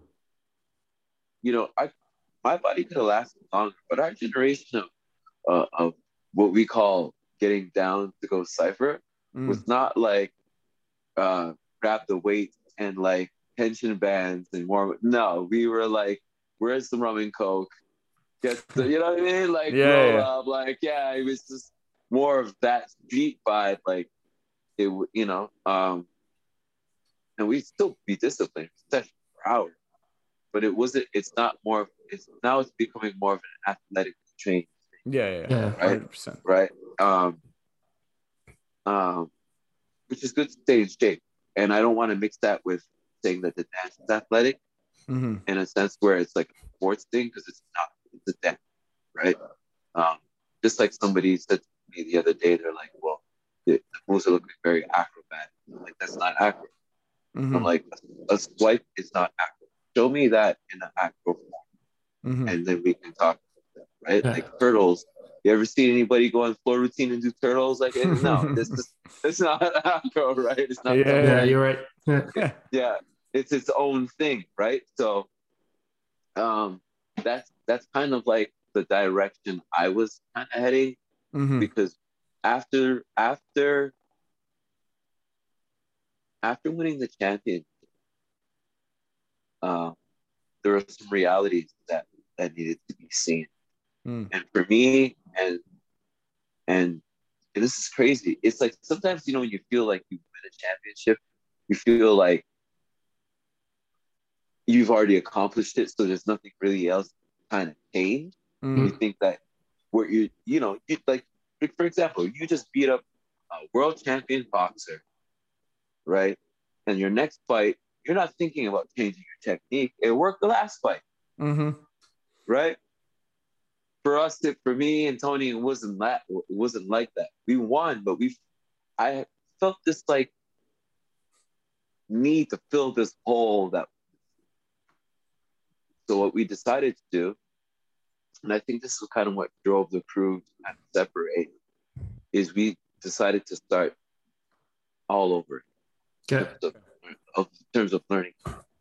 my body could have lasted longer, but our generation of what we call getting down to go cipher was not like grab the weight and like tension bands and more. No, we were like, where's the rum and coke? Get the, you know what I mean? Like roll up, like it was just more of that street vibe. Like it, and we still be disciplined, session per hour, but it wasn't. It's not more. It's now it's becoming more of an athletic train. Yeah, right, 100%. right. Which is good to stay in shape, and I don't want to mix that with saying that the dance is athletic in a sense where it's like a sports thing, because it's not. It's a dance, right? Just like somebody said to me the other day, they're like, "Well, the moves are looking very acrobat." I'm like, that's not acro. I'm like, a swipe is not acro. Show me that in an acro form, and then we can talk about that, right? Yeah. Like turtles. You ever seen anybody go on floor routine and do turtles? Like, no, it's not acro, right? It's not. Yeah, you're right. Yeah, it's its own thing, right? So, that's kind of like the direction I was kind of heading, because after winning the championship, there were some realities that needed to be seen, and for me, and this is crazy. It's like sometimes when you feel like you win a championship, you feel like you've already accomplished it, so there's nothing really else kind of change. You think that where you like, for example, you just beat up a world champion boxer, right? And your next fight, you're not thinking about changing your technique. It worked the last fight, right? For me and Tony, it wasn't like that. We won, but I felt this like need to fill this hole that. So what we decided to do, and I think this is kind of what drove the crew to kind of separate, is we decided to start all over in terms of learning.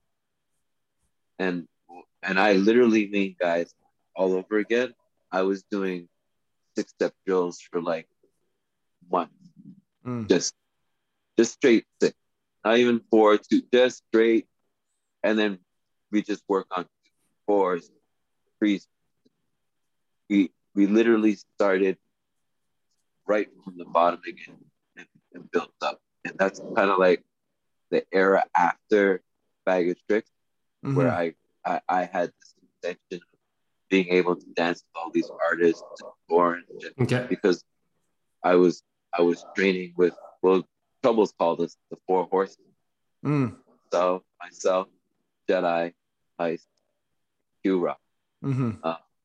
And I literally mean, guys, all over again. I was doing 6-step drills for like months, just straight 6, not even 4, 2, just straight, and then we just work on 4s, 3s. We literally started right from the bottom again and built up, and that's kind of like the era after Bag of Tricks, where I had this intention of being able to dance with all these artists and Orange, because I was training with, well, Troubles called us the 4 horses. So myself, Jedi, Ice, Q-Rock. And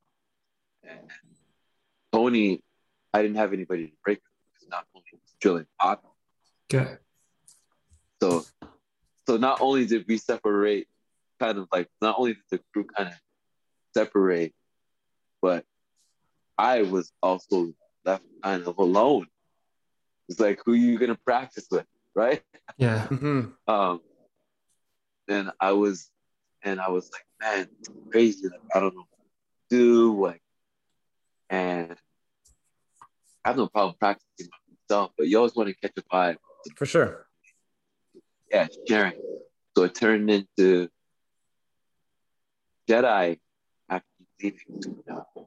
Tony, I didn't have anybody to break with, because not only was drilling pop. Okay. So not only did we separate, kind of like, not only did the crew kind of separate, but I was also left kind of alone. It's like, who are you gonna practice with, right? Yeah. And I was like, man, it's crazy. Like, I don't know what to do. Like, and I have no problem practicing myself, but you always want to catch a vibe. For sure. Yeah, sharing. So it turned into Jedi actually leaving.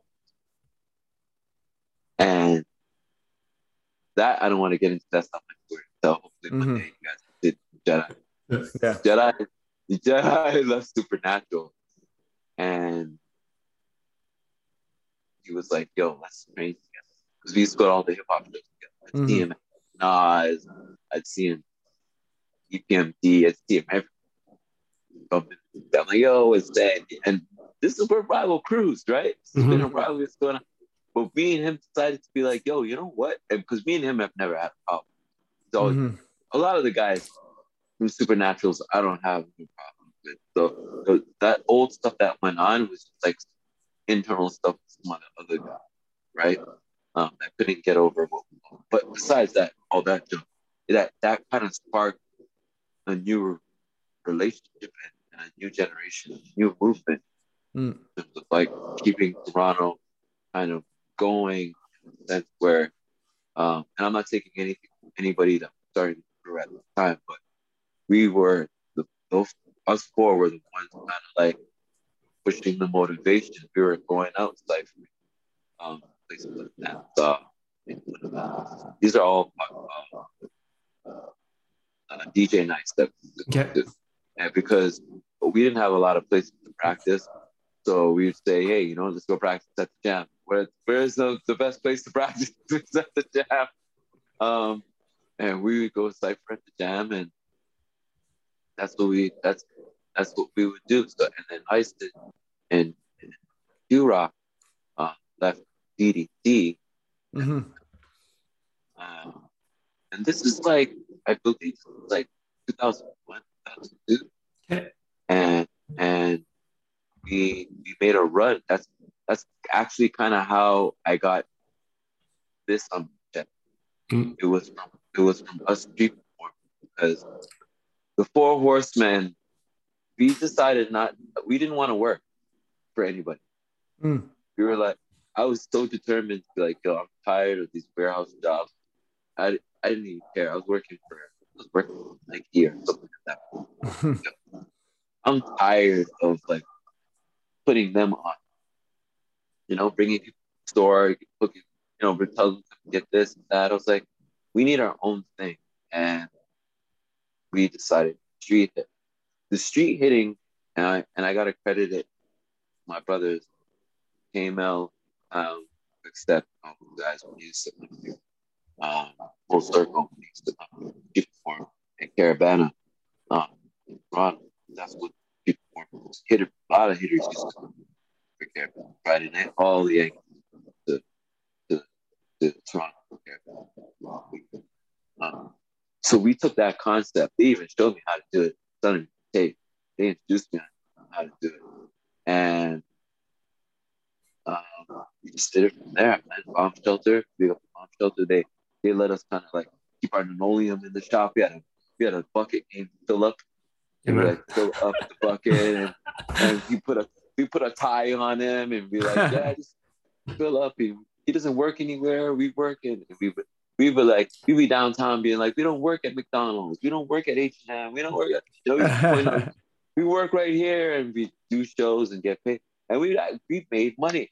And that, I don't want to get into that stuff anymore. So hopefully one day you guys did Jedi. Yeah. Jedi left Supernatural. he was like, "Yo, let's train together." Because we used to go to all the hip hop shows together. I'd see him at Nas, I'd see him EPMD, I'd see him everywhere. I'm like, "Yo, it's that," and this is where rival crews, right? This has been a rivalry that's going on. But me and him decided to be like, "Yo, you know what?" And because me and him have never had a problem. So a lot of the guys from Supernaturals, I don't have any problem with. So that old stuff that went on was just like internal stuff with some of the other guys, right? That couldn't get over what we want. But besides that, all that junk, that kind of sparked a new relationship and a new generation, a new movement. In terms of like keeping Toronto kind of going in a sense where, and I'm not taking anything from anybody that started at the time, but we were us four were the ones kind of like pushing the motivation. We were going out like places like that. These are all DJ nights that we do. And because we didn't have a lot of places to practice, so we'd say, "Hey, let's go practice at the jam." Where's the best place to practice? It's at the jam. And we would go cypher at the jam, and that's what we would do. So, and then Heiston and Q-Rock left DDT. And this is like, I believe, like 2001, 2002. Okay. And we made a run. That's actually kind of how I got this on check. It was from us street performing, because the Four Horsemen, we decided we didn't want to work for anybody. We were like, I was so determined to be like, "Yo, I'm tired of these warehouse jobs." I didn't even care. I was working like here, something like that. I'm tired of like putting them on, bringing people to the store, cooking, telling them to get this and that. I was like, we need our own thing. And we decided street hit. The street hitting, and I got to credit it, my brothers, KML, except guys when you used to Full Circle, when used to perform, and Caravana, in Toronto. That's what people perform. A lot of hitters used to come for Caravana Friday night, all the Yankees to Toronto for Caravana. So we took that concept. They even showed me how to do it. It's on tape. They introduced me on how to do it, and we just did it from there. Man, bomb shelter. We got the bomb shelter. They let us kind of like keep our linoleum in the shop. We had a bucket game to fill up, and we like fill up the bucket, and we put a tie on him, and be like, "Yeah, just fill up." He doesn't work anywhere. We work, and we be downtown being like, "We don't work at McDonald's. We don't work at H&M. We don't work at we work right here," and we do shows and get paid, and we made money.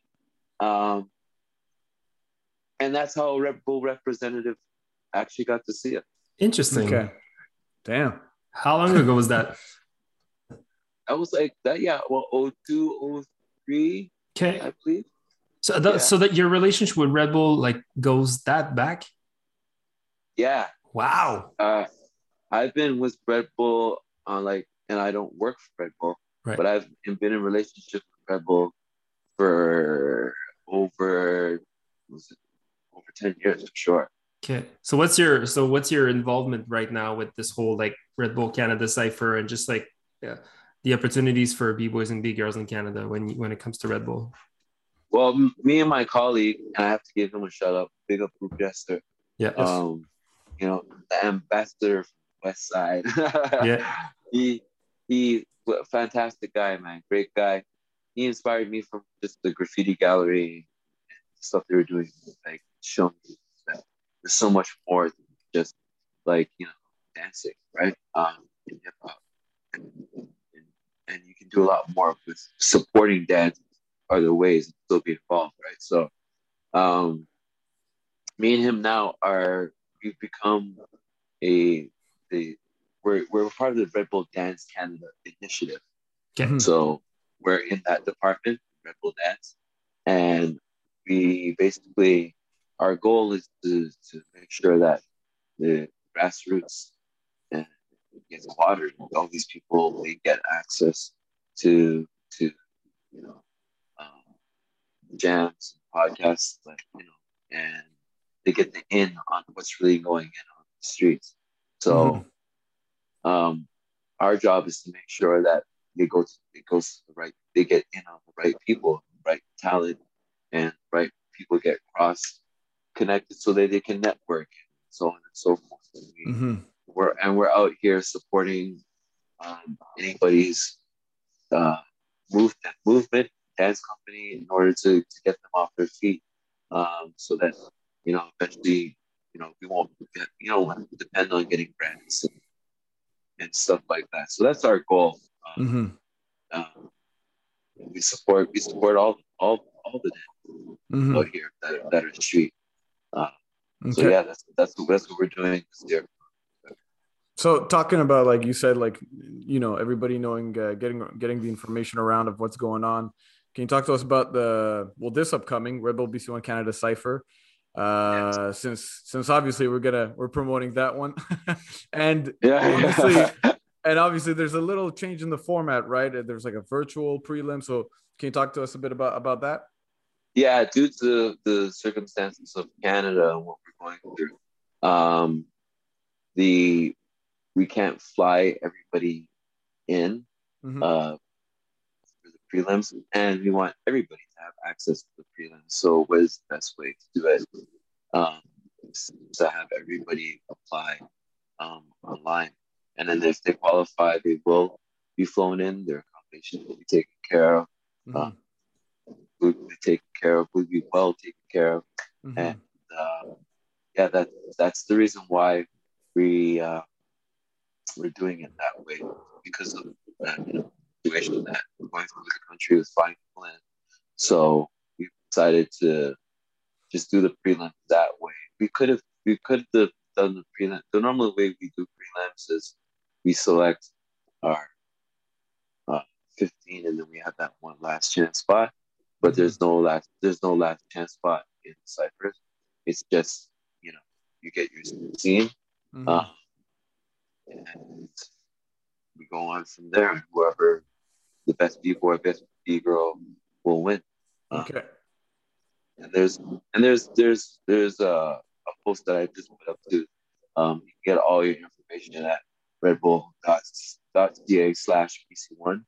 And that's how a Red Bull representative actually got to see it. Interesting. Okay. Damn. How long ago was that? I was like that. Yeah. Well, 02, 03. Okay. I believe. So that your relationship with Red Bull like goes that back? Yeah. Wow. I've been with Red Bull and I don't work for Red Bull, right. But I've been in a relationship with Red Bull for over 10 years for sure. Okay. So what's your involvement right now with this whole like Red Bull Canada Cypher and just like the opportunities for B-boys and B-girls in Canada when it comes to Red Bull? Well, me and my colleague, and I have to give him a shout out, big up Group Jester. Yeah. The ambassador from West Side. Yeah. He a fantastic guy, man. Great guy. He inspired me from just the graffiti gallery and stuff they were doing, like showing me that there's so much more than just like, dancing, right? In hip hop. And you can do a lot more with supporting dance other ways and still be involved, right? So me and him now we've become we're part of the Red Bull Dance Canada initiative. Okay. So we're in that department, Red Bull Dance, and we basically, our goal is to make sure that the grassroots gets watered. All these people, they get access to jams and podcasts, and they get the in on what's really going in on the streets. So our job is to make sure that it goes to the right, they get in on the right people, the right talent, and right people get cross connected so that they can network, and so on and so forth. We're out here supporting anybody's movement, dance company, in order to get them off their feet, so that eventually we won't depend on getting grants and stuff like that. So that's our goal. We support all the dance out here that are street. So yeah, that's what we're doing this year. So talking about, like you said, like, everybody knowing, getting the information around of what's going on. Can you talk to us about this upcoming Red Bull BC1 Canada Cypher? Since obviously we're promoting that one, and obviously there's a little change in the format, right? There's like a virtual prelim. So can you talk to us a bit about that? Yeah, due to the circumstances of Canada and what we're going through, we can't fly everybody in for the prelims, and we want everybody to have access to the prelims. So what is the best way to do it? To have everybody apply online, and then if they qualify, they will be flown in. Their accommodation will be taken care of. Food will be taken care of. Will be well taken care of. And that's the reason why we're doing it that way, because of that situation that we're going through the country with flying people in. So we decided to just do the prelim that way. We could have done the prelim. The normal way we do prelims is we select our 15, and then we have that one last chance spot. But there's no last chance spot in Cyprus. It's just you get your scene. And we go on from there. Whoever the best B boy, best B girl will win. Okay. And there's a post that I just put up too. You can get all your information at redbull.ca/BC1.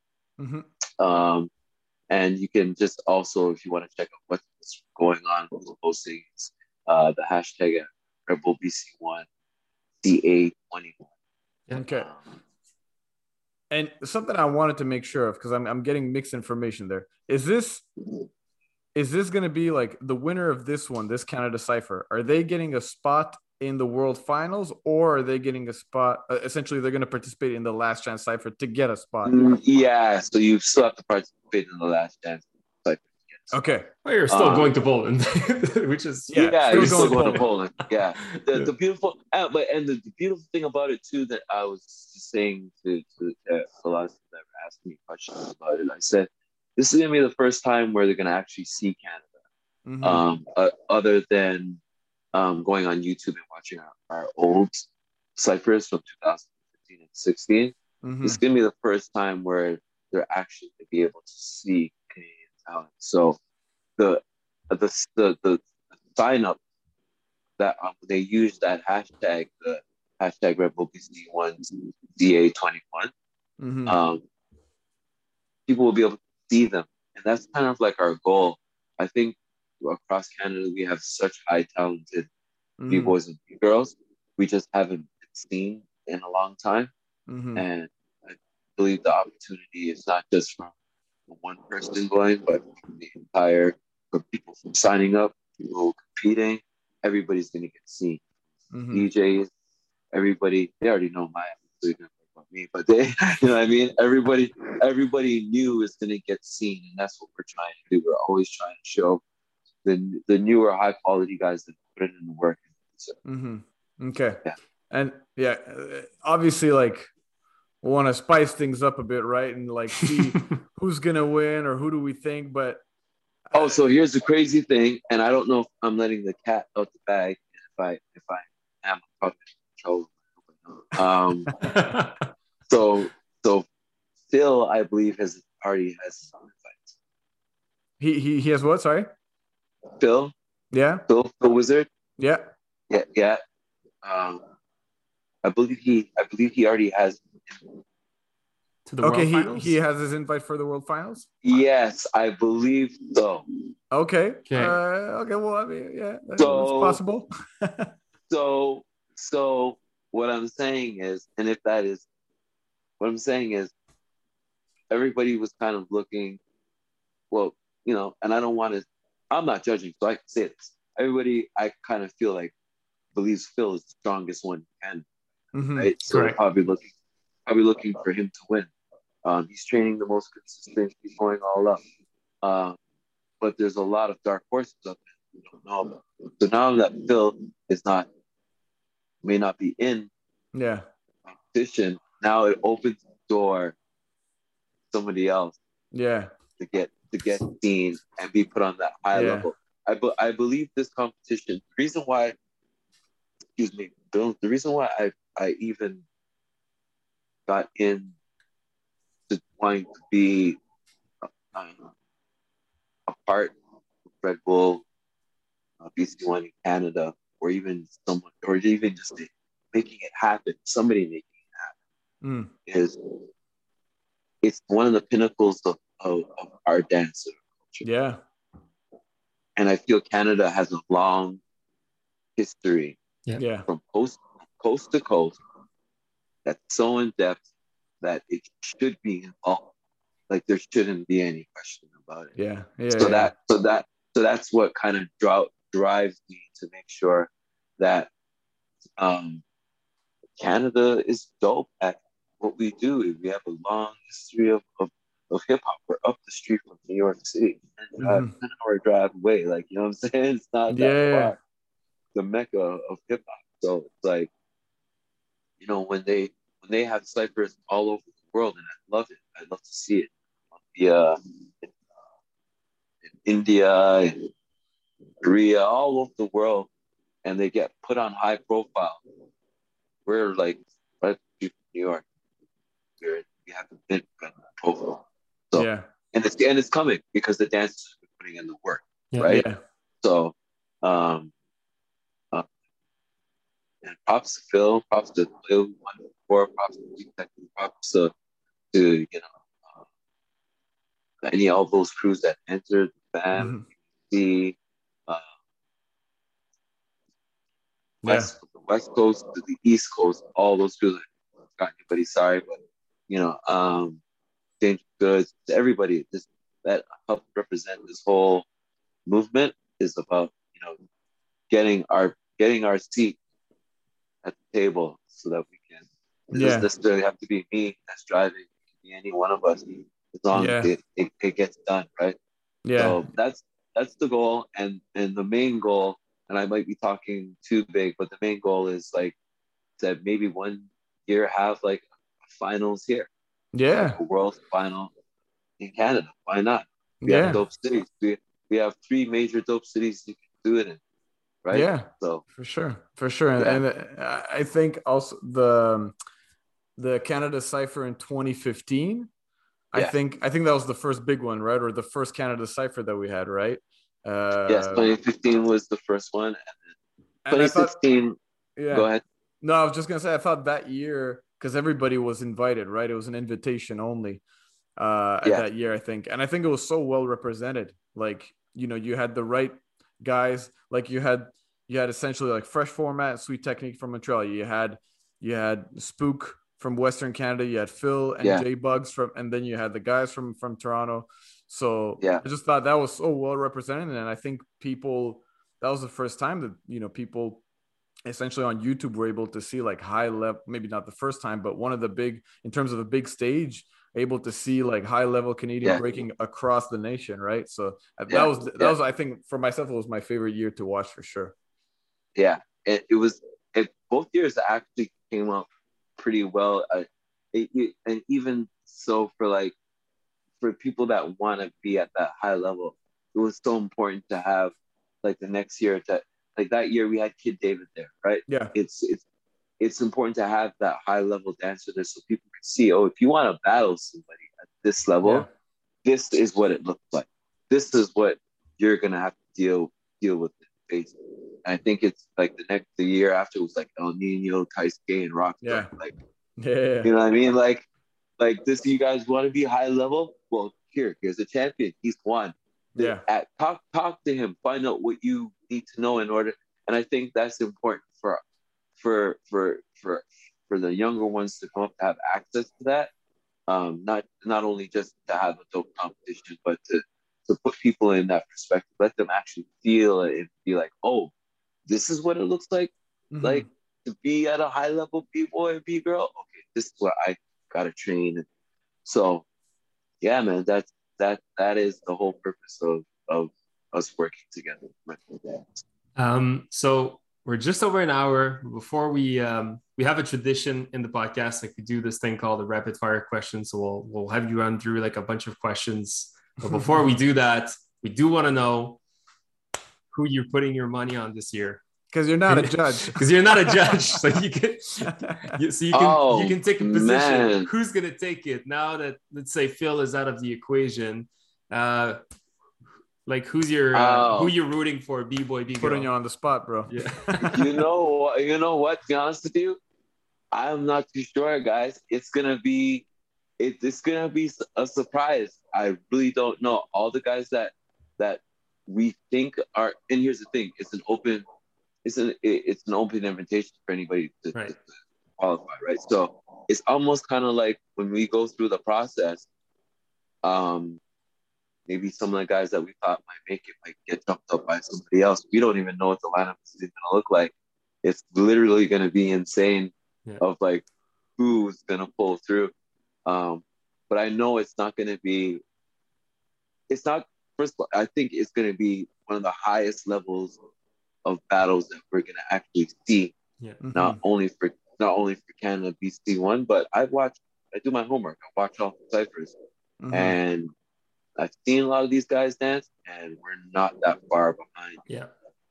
And you can just also, if you want to check out what's going on with the postings, the hashtag at RedbullBC1 CA21. Okay. And something I wanted to make sure of, because I'm getting mixed information there. Is this going to be like the winner of this Canada Cypher? Are they getting a spot in the World Finals, or are they getting a spot? Essentially, they're going to participate in the Last Chance Cypher to get a spot. Yeah, so you still have to participate in the Last Chance Cypher. Okay. Well, you're still going to Poland, which is you're still going to Poland. Yeah, the beautiful, the beautiful thing about it too, that I was just saying to a lot of people that were asking me questions about it. I said, this is gonna be the first time where they're gonna actually see Canada, other than going on YouTube and watching our old ciphers from 2015 and 16. This is gonna be the first time where they're actually gonna be able to see Canadian talent. So the sign up that they use that hashtag, the hashtag RedbullBC1 DA21. People will be able to see them, and that's kind of like our goal. I think across Canada we have such high talented B-boys and B-girls. We just haven't been seen in a long time, and I believe the opportunity is not just from one person going, but the entire, for people from signing up, people competing, everybody's going to get seen. DJs, everybody, they already know my attitude about me, but they, you know what I mean? Everybody new is going to get seen, and that's what we're trying to do. We're always trying to show the newer, high quality guys that put it in the work. So, okay. Yeah. And obviously, like, we want to spice things up a bit, right? And like see who's gonna win or who do we think. But Oh, so here's the crazy thing, and I don't know if I'm letting the cat out the bag. If I am, I'm probably in trouble. So so Phil, I believe, has already has some invites. He has what? Sorry. Phil, Yeah. Phil Wizard. Yeah. Yeah. Um, I believe he already has. To the Okay. World He Finals. has his invite for the World Finals. Yes, I believe so. Okay. Okay. Okay. Well, I mean, yeah, it's So possible. so so what I'm saying is, and if that is what I'm saying is, everybody was kind of looking, well, and I don't want to, I'm not judging, so I can say this. Everybody, I kind of feel like believes Phil is the strongest one, and right, so they're Correct. probably looking for him to win. He's training the most consistent. He's going all up. But there's a lot of dark horses up there we don't know about. So now that Phil may not be in Yeah. competition, now it opens the door to somebody else Yeah. to get seen and be put on that high Yeah. level. I believe this competition. The reason why, excuse me, Bill. The reason why I even got in to wanting to be a part of Red Bull, BC1 in Canada, or even someone, or even just making it happen. Somebody making it happen is it's one of the pinnacles of our dance culture. Yeah. And I feel Canada has a long history Yeah. from coast to coast that's so in depth that it should be involved. Like there shouldn't be any question about it. Yeah. So that's what kind of drives me to make sure that Canada is dope at what we do. We have a long history of hip hop. We're up the street from New York City, 10 hour drive away. Like, you know what I'm saying? It's not that Yeah. far. The mecca of hip hop. So it's like, when they have ciphers all over the world, and I love it. I love to see it. In India, in Korea, all over the world, and they get put on high profile. We're like right from New York. We have a big profile. So Yeah. and it's coming because the dancers are putting in the work, Yeah. right? Yeah. So and props to Phil, props to Lil 114, props to G-Tech, props to all those crews that entered the fam, the Yeah. the West Coast to the East Coast, all those crews. I don't got anybody, sorry, but Dangerous Goods, everybody that helped represent this whole movement is about getting our seat at the table so that we can. It doesn't necessarily have to be me that's driving. It can be any one of us, as long as it gets done, right? Yeah. So that's the goal, and the main goal. And I might be talking too big, but the main goal is like that maybe one year have like finals here, like a world final in Canada. Why not? We have dope cities. We have 3 major dope cities you can do it in, right? Yeah. So for sure. And I think also the Canada Cypher in 2015. I think that was the first big one, right? Or the first Canada Cypher that we had, right? Yes, 2015 was the first one, and 2016. Go ahead. No, I was just gonna say I thought that year, because everybody was invited, right? It was an invitation only that year, I think, and I think it was so well represented. Like, you had the right guys. Like you had essentially like Fresh Format, Sweet Technique from Montreal. You had Spook from Western Canada. You had Phil and J Bugs and then you had the guys from Toronto. So I just thought that was so well represented, and I think that was the first time that people essentially on YouTube were able to see like high level, maybe not the first time, but one of the big, in terms of a big stage, able to see like high level Canadian breaking across the nation, right? So that was I think for myself, it was my favorite year to watch for sure. Yeah, it was. Both years actually came out pretty well, and even so for people that want to be at that high level, it was so important to have like the next year to like that year we had Kid David there, right? Yeah. It's important to have that high level dancer there so people can see, oh, if you want to battle somebody at this level, this is what it looks like. This is what you're gonna have to deal with it. Basically. And I think it's like the year after was like El Nino, Taisuke, and Rockstar. Yeah. Like, Yeah. you know what I mean? Like this. You guys want to be high level? Well, here's a champion. He's won. Yeah. Talk to him. Find out what you need to know in order. And I think that's important for the younger ones to come up to have access to that. Not only just to have a dope competition, but to put people in that perspective, let them actually feel it and be like, oh, this is what it looks like, like to be at a high level B-boy or B-girl. Okay, this is where I gotta train. So, yeah, man, that is the whole purpose of us working together. So we're just over an hour. Before we have a tradition in the podcast, like we do this thing called the rapid fire questions. So we'll have you run through like a bunch of questions. But before we do that, we do want to know who you're putting your money on this year. Because you're not a judge. Because you're not a judge, so you can take a position. Man. Who's gonna take it now that, let's say, Phil is out of the equation? Like who you're rooting for? B-boy, B-girl. Putting you on the spot, bro. Yeah. You know what? To be honest with you, I'm not too sure, guys. It's gonna be a surprise. I really don't know. All the guys that we think are, and here's the thing: it's an open invitation for anybody to qualify, right? So it's almost kind of like when we go through the process, maybe some of the guys that we thought might make it might get jumped up by somebody else. We don't even know what the lineup is going to look like. It's literally going to be insane of like who's going to pull through. But I know it's not going to be. It's not. First of all, I think it's going to be one of the highest levels of battles that we're going to actually see. Yeah. Not only for Canada BC1, but I do my homework. I watch all the ciphers, and I've seen a lot of these guys dance, and we're not that far behind. Yeah.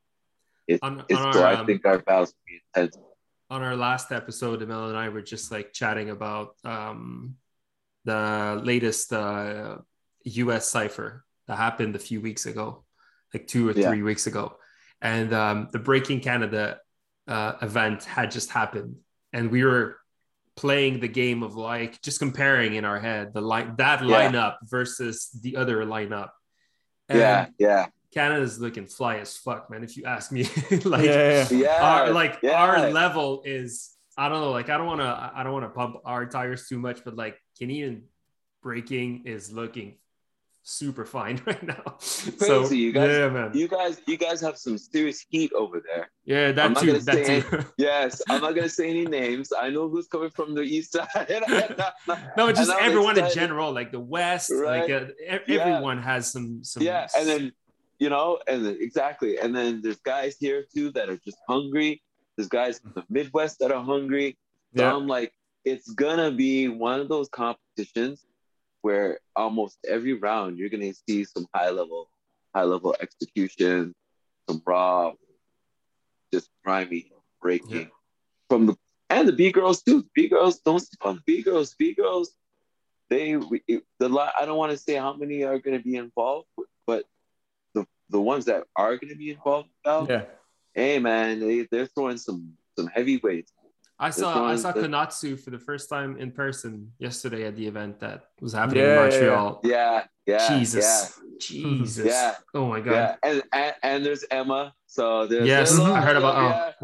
I think our battles will be intense. On our last episode, Emil and I were just like chatting about the latest US cipher that happened a few weeks ago, like 2 or 3 weeks ago. And the Breaking Canada event had just happened. And we were playing the game of like just comparing in our head lineup versus the other lineup. And Canada's looking fly as fuck, man. If you ask me, our level is, I don't know, like I don't want to pump our tires too much, but like Canadian breaking is looking super fine right now. Crazy, so you guys, yeah, man. You guys have some serious heat over there. Yeah, that too. Yes, I'm not gonna say any names. I know who's coming from the east side. No, just everyone in general, like the West, right? Like everyone has some. Yeah, and then exactly, and then there's guys here too that are just hungry. There's guys from the Midwest that are hungry. So I'm like, it's gonna be one of those competitions where almost every round you're gonna see some high level execution, some raw, just grimy breaking from the B girls too. B girls, don't sleep on the B girls. B girls, I don't want to say how many are gonna be involved, but the ones that are gonna be involved now, hey man, they're throwing some heavyweights. I saw Konatsu for the first time in person yesterday at the event that was happening in Montreal. Jesus. Yeah. Oh my god. Yeah. And there's Emma. So there's I heard about.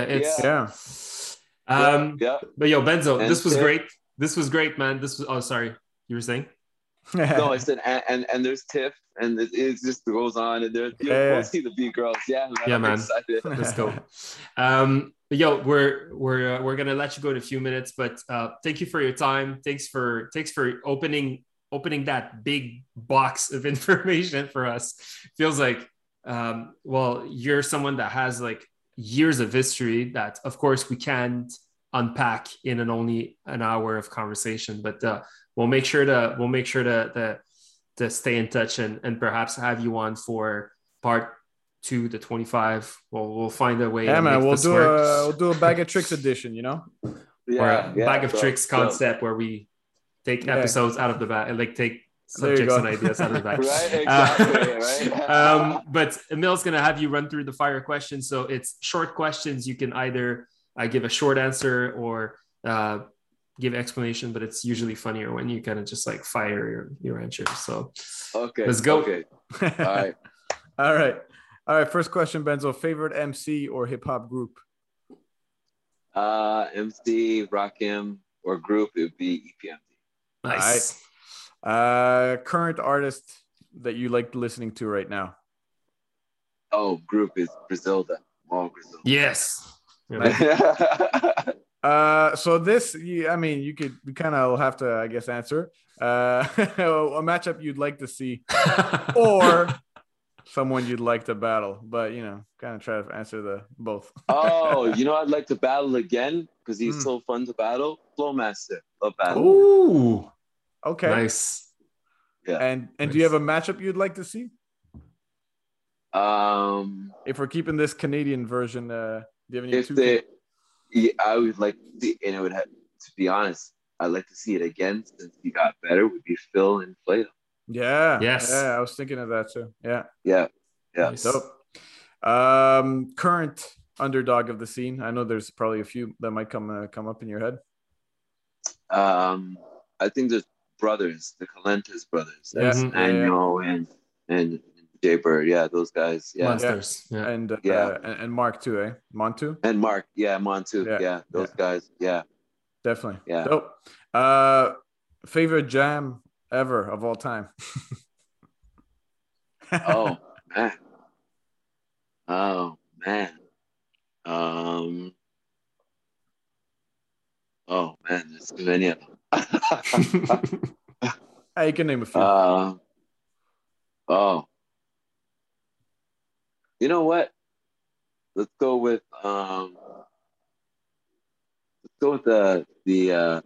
But yo, Benzo, and this was great. This was great, man. Sorry, you were saying? No, I said and there's Tiff, and it just goes on, and we'll see the B girls. Yeah, man. Excited. Let's go. Yo, we're gonna let you go in a few minutes, but thank you for your time. Thanks for opening that big box of information for us. Feels like you're someone that has like years of history that of course we can't unpack in only an hour of conversation, but we'll make sure to to stay in touch and perhaps have you on for part 2 to 25. We'll find a way. Yeah, to man. make We'll this work. we'll do a bag of tricks edition. Or a bag of tricks concept where we take episodes out of the bag, like take subjects and ideas out of the bag. Right, exactly. Right. But Emil's gonna have you run through the fire questions. So it's short questions. You can either give a short answer or give explanation, but it's usually funnier when you kind of just like fire your answers. So okay, let's go. Okay. All right. First question, Benzo. Favorite MC or hip hop group? MC, Rakim, or group, it would be EPMD. Nice. All right. Current artist that you like listening to right now? Oh, group is Griselda. All Griselda. Yes. So this, we kind of have to, I guess, answer a matchup you'd like to see, or someone you'd like to battle, but kind of try to answer the both. Oh, I'd like to battle again because he's so fun to battle. Flowmaster, love battle. Ooh, okay, nice. Yeah, and do you have a matchup you'd like to see? If we're keeping this Canadian version, do you have any? I would like to see, and it would have, to be honest, I'd like to see it again since he got better. Would be Phil and Flato. Yeah. Yes. Yeah, I was thinking of that too. Yeah. Nice. Dope. Current underdog of the scene. I know there's probably a few that might come up in your head. I think there's brothers, the Calentes brothers. Yeah. Daniel and Jay Bird. Yeah, those guys. Yeah. Monsters. Yeah. And Mark too, eh? Montu? And Mark. Yeah, Montu. Yeah, those guys. Yeah. Definitely. Yeah. Dope. Favorite jam ever of all time? Oh man. Oh man, there's too many of them. Hey, you can name a few. You know what? Let's go with the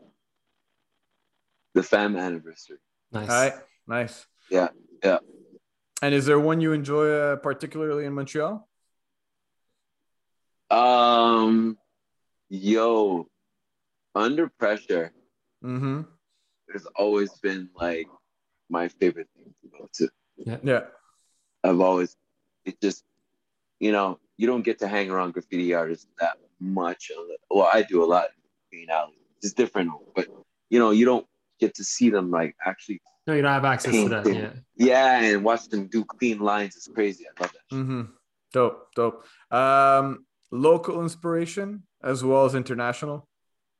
fam anniversary. Nice. All right, nice. Yeah. And is there one you enjoy particularly in Montreal? Under Pressure. Mm-hmm. There's always been like my favorite thing to go to. Yeah. I've always, it just, you don't get to hang around graffiti artists that much. Well, I do a lot in green alley. It's different, but you don't get to see them like actually. No, you don't have access to that. Yeah. Yeah, and watch them do clean lines is crazy. I love that. Mm-hmm. Dope. Local inspiration as well as international.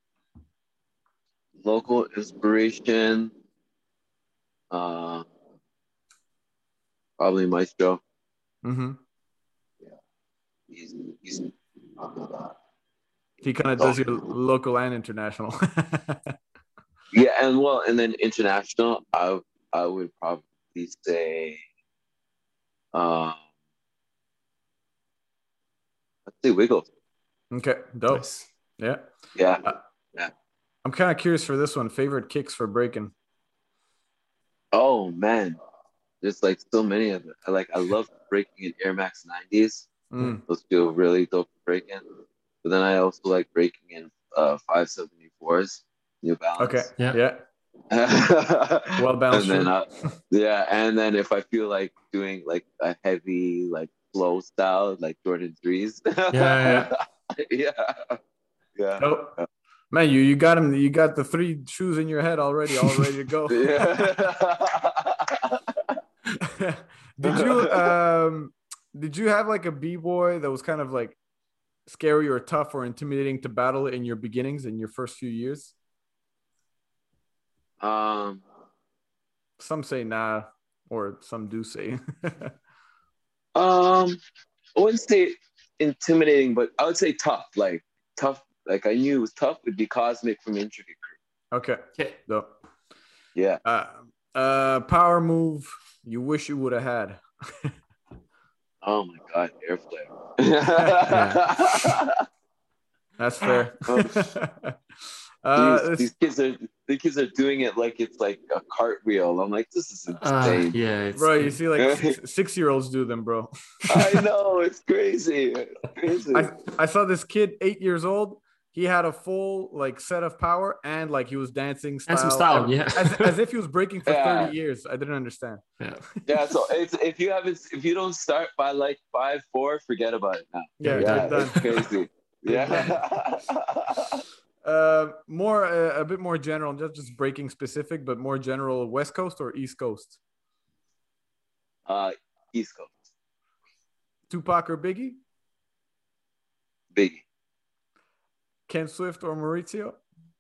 Local inspiration, probably Maestro. Mm-hmm. Yeah, he kind of does your local and international. Yeah, and then international, I would probably say, let's say Wiggles. Okay, dope. Nice. Yeah. Yeah. I'm kind of curious for this one. Favorite kicks for breaking? Oh man, there's like so many of it. I love breaking in Air Max 90s. Those feel really dope for breaking. But then I also like breaking in 574s, New Balance. Okay. Yeah. Well balanced. And then and then if I feel like doing like a heavy like flow style like Jordan 3s. Yeah. Nope. Man, you got him. You got the 3 shoes in your head already, all ready to go. Did you have like a b-boy that was kind of like scary or tough or intimidating to battle in your beginnings in your first few years? Some say nah, or some do say. I wouldn't say intimidating, but I would say tough. Like tough. Like I knew it was tough. Would be Cosmic from Intricate Crew. Okay. Dope. Yeah. Power move you wish you would have had. Oh my God, Airflare. That's fair. These kids are doing it like it's like a cartwheel. I'm like, this is insane. Yeah, bro. You see, like 6-year-olds do them, bro. I know, it's crazy. I saw this kid, 8 years old. He had a full like set of power and like he was dancing style, and some style, yeah, as if he was breaking for 30 years. I didn't understand. Yeah. So if you don't start by like 5'4", forget about it now. Yeah, it's crazy. Yeah. A bit more general, just breaking specific, but more general. West Coast or East Coast? East Coast. Tupac or Biggie? Biggie. Ken Swift or Maurizio?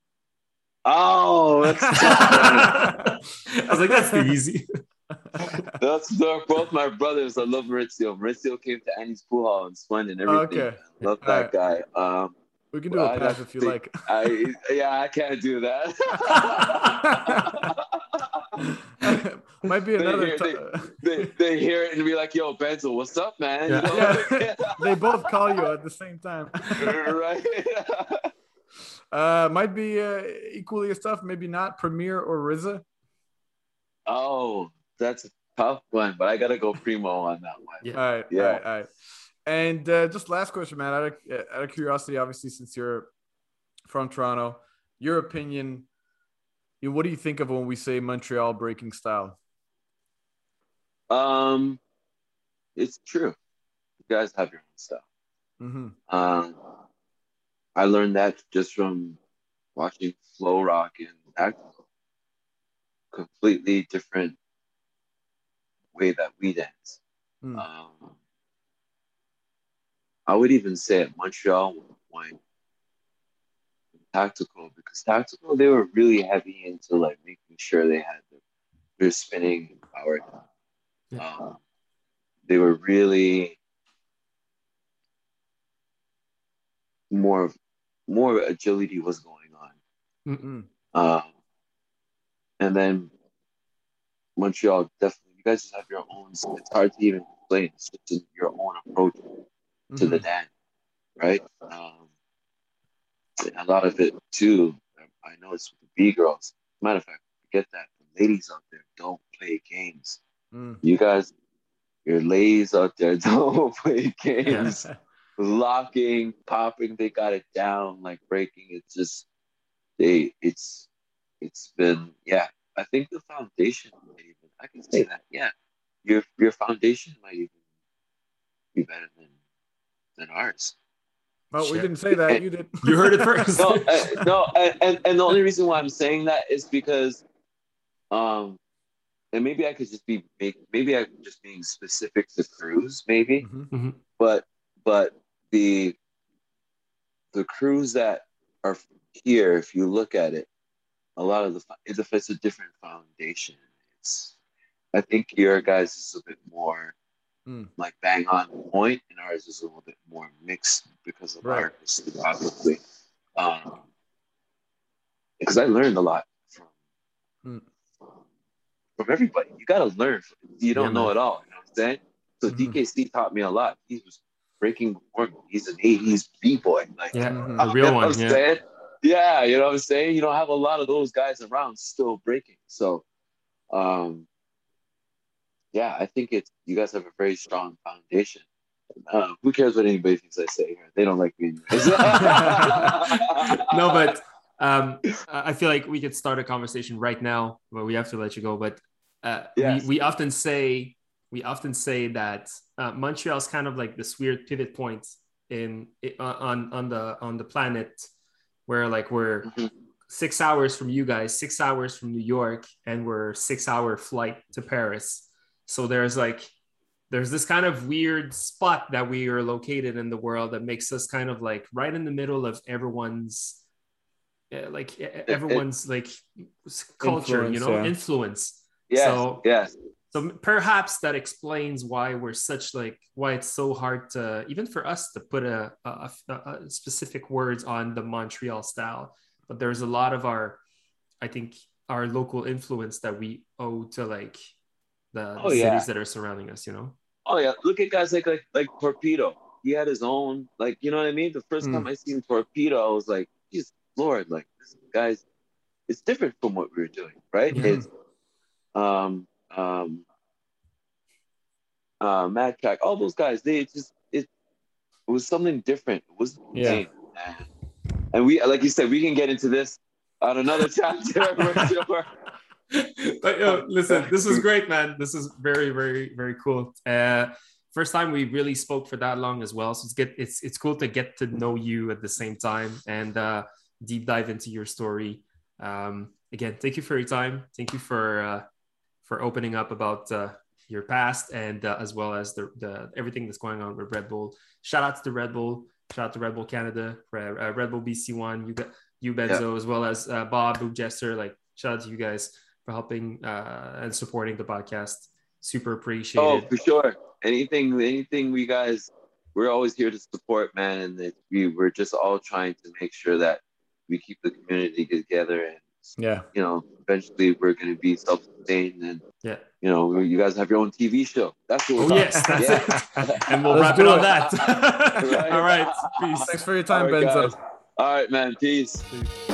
Oh, that's I was like, that's too easy. They're both my brothers. I love Maurizio. Maurizio came to Annie's Pool Hall and spun and everything. Okay. Love that guy. We can do a pass if you like. I can't do that. Might be another. They hear it and be like, "Yo, Benzo, what's up, man?" Yeah. You know? They both call you at the same time. Right. Might be equally as tough. Maybe not. Premier or RZA? Oh, that's a tough one, but I gotta go Primo on that one. Yeah. All right. And just last question, man. Out of curiosity, obviously, since you're from Toronto, your opinion. What do you think of when we say Montreal breaking style? It's true. You guys have your own style. Mm-hmm. I learned that just from watching Flow Rock and Tactical. Completely different way that we dance. I would even say at Montreal went Tactical, because Tactical, they were really heavy into like making sure they had their spinning power down. Yeah. They were really more agility was going on. And then Montreal, definitely, you guys just have your own. It's hard to even explain. It's just your own approach to the dance, right? A lot of it too. I know it's with the B girls. Matter of fact, forget that. The ladies out there don't play games. You guys, your ladies out there don't play games. Yeah. Locking, popping, they got it down. Like breaking, it's just it's been, yeah. I think the foundation might even, I can say that, yeah. Your foundation might even be better than ours. Well, we didn't say that. You did. You heard it first. And the only reason why I'm saying that is because, and maybe I could just be being specific to crews, maybe. Mm-hmm. But the crews that are here, if you look at it, a lot of it's a different foundation. I think your guys is a bit more like bang on point, and ours is a little bit more mixed because of our history, obviously. Because I learned a lot from everybody. You got to learn. You don't know it all. You know what I'm saying? So DKC taught me a lot. He was breaking before me. He's an 80s b-boy. Like, the real one. Saying? Yeah, you know what I'm saying? You don't have a lot of those guys around still breaking. So, yeah, I think you guys have a very strong foundation. Who cares what anybody thinks I say here? They don't like me. No, but I feel like we could start a conversation right now, but we have to let you go. But yes. we often say that Montreal is kind of like this weird pivot point on the planet, where like we're 6 hours from you guys, 6 hours from New York, and we're 6-hour flight to Paris. So there's this kind of weird spot that we are located in the world that makes us kind of like right in the middle of everyone's culture, influence. Yes. So perhaps that explains why why it's so hard to, even for us, to put a specific words on the Montreal style. But there's a lot of our local influence that we owe to like the cities that are surrounding us, you know? Oh yeah. Look at guys like Torpedo. He had his own, like, you know what I mean? The first time I seen Torpedo, I was like, Jesus Lord, like, this guys, it's different from what we were doing, right? It's Mad Track, all those guys, it was something different. It was the same. And we, like you said, we can get into this on another chapter. But listen, this was great, man. This is very, very, very cool. First time we really spoke for that long as well. So it's cool to get to know you at the same time and deep dive into your story. Again, thank you for your time. Thank you for opening up about your past and as well as the everything that's going on with Red Bull. Shout out to the Red Bull. Shout out to Red Bull Canada, Red Bull BC1, you Benzo, as well as Bob, Boop Jester. Like, shout out to you guys for helping and supporting the podcast. Super appreciated. Oh, for sure. Anything we guys, we're always here to support, man. And we're just all trying to make sure that we keep the community together. And, you know, eventually we're going to be self-sustained. And, you know, you guys have your own TV show. That's what we're that's it. And we'll wrap it on that. Right. All right. Peace. Thanks for your time, Benzo. Benzo. All right, man. Peace.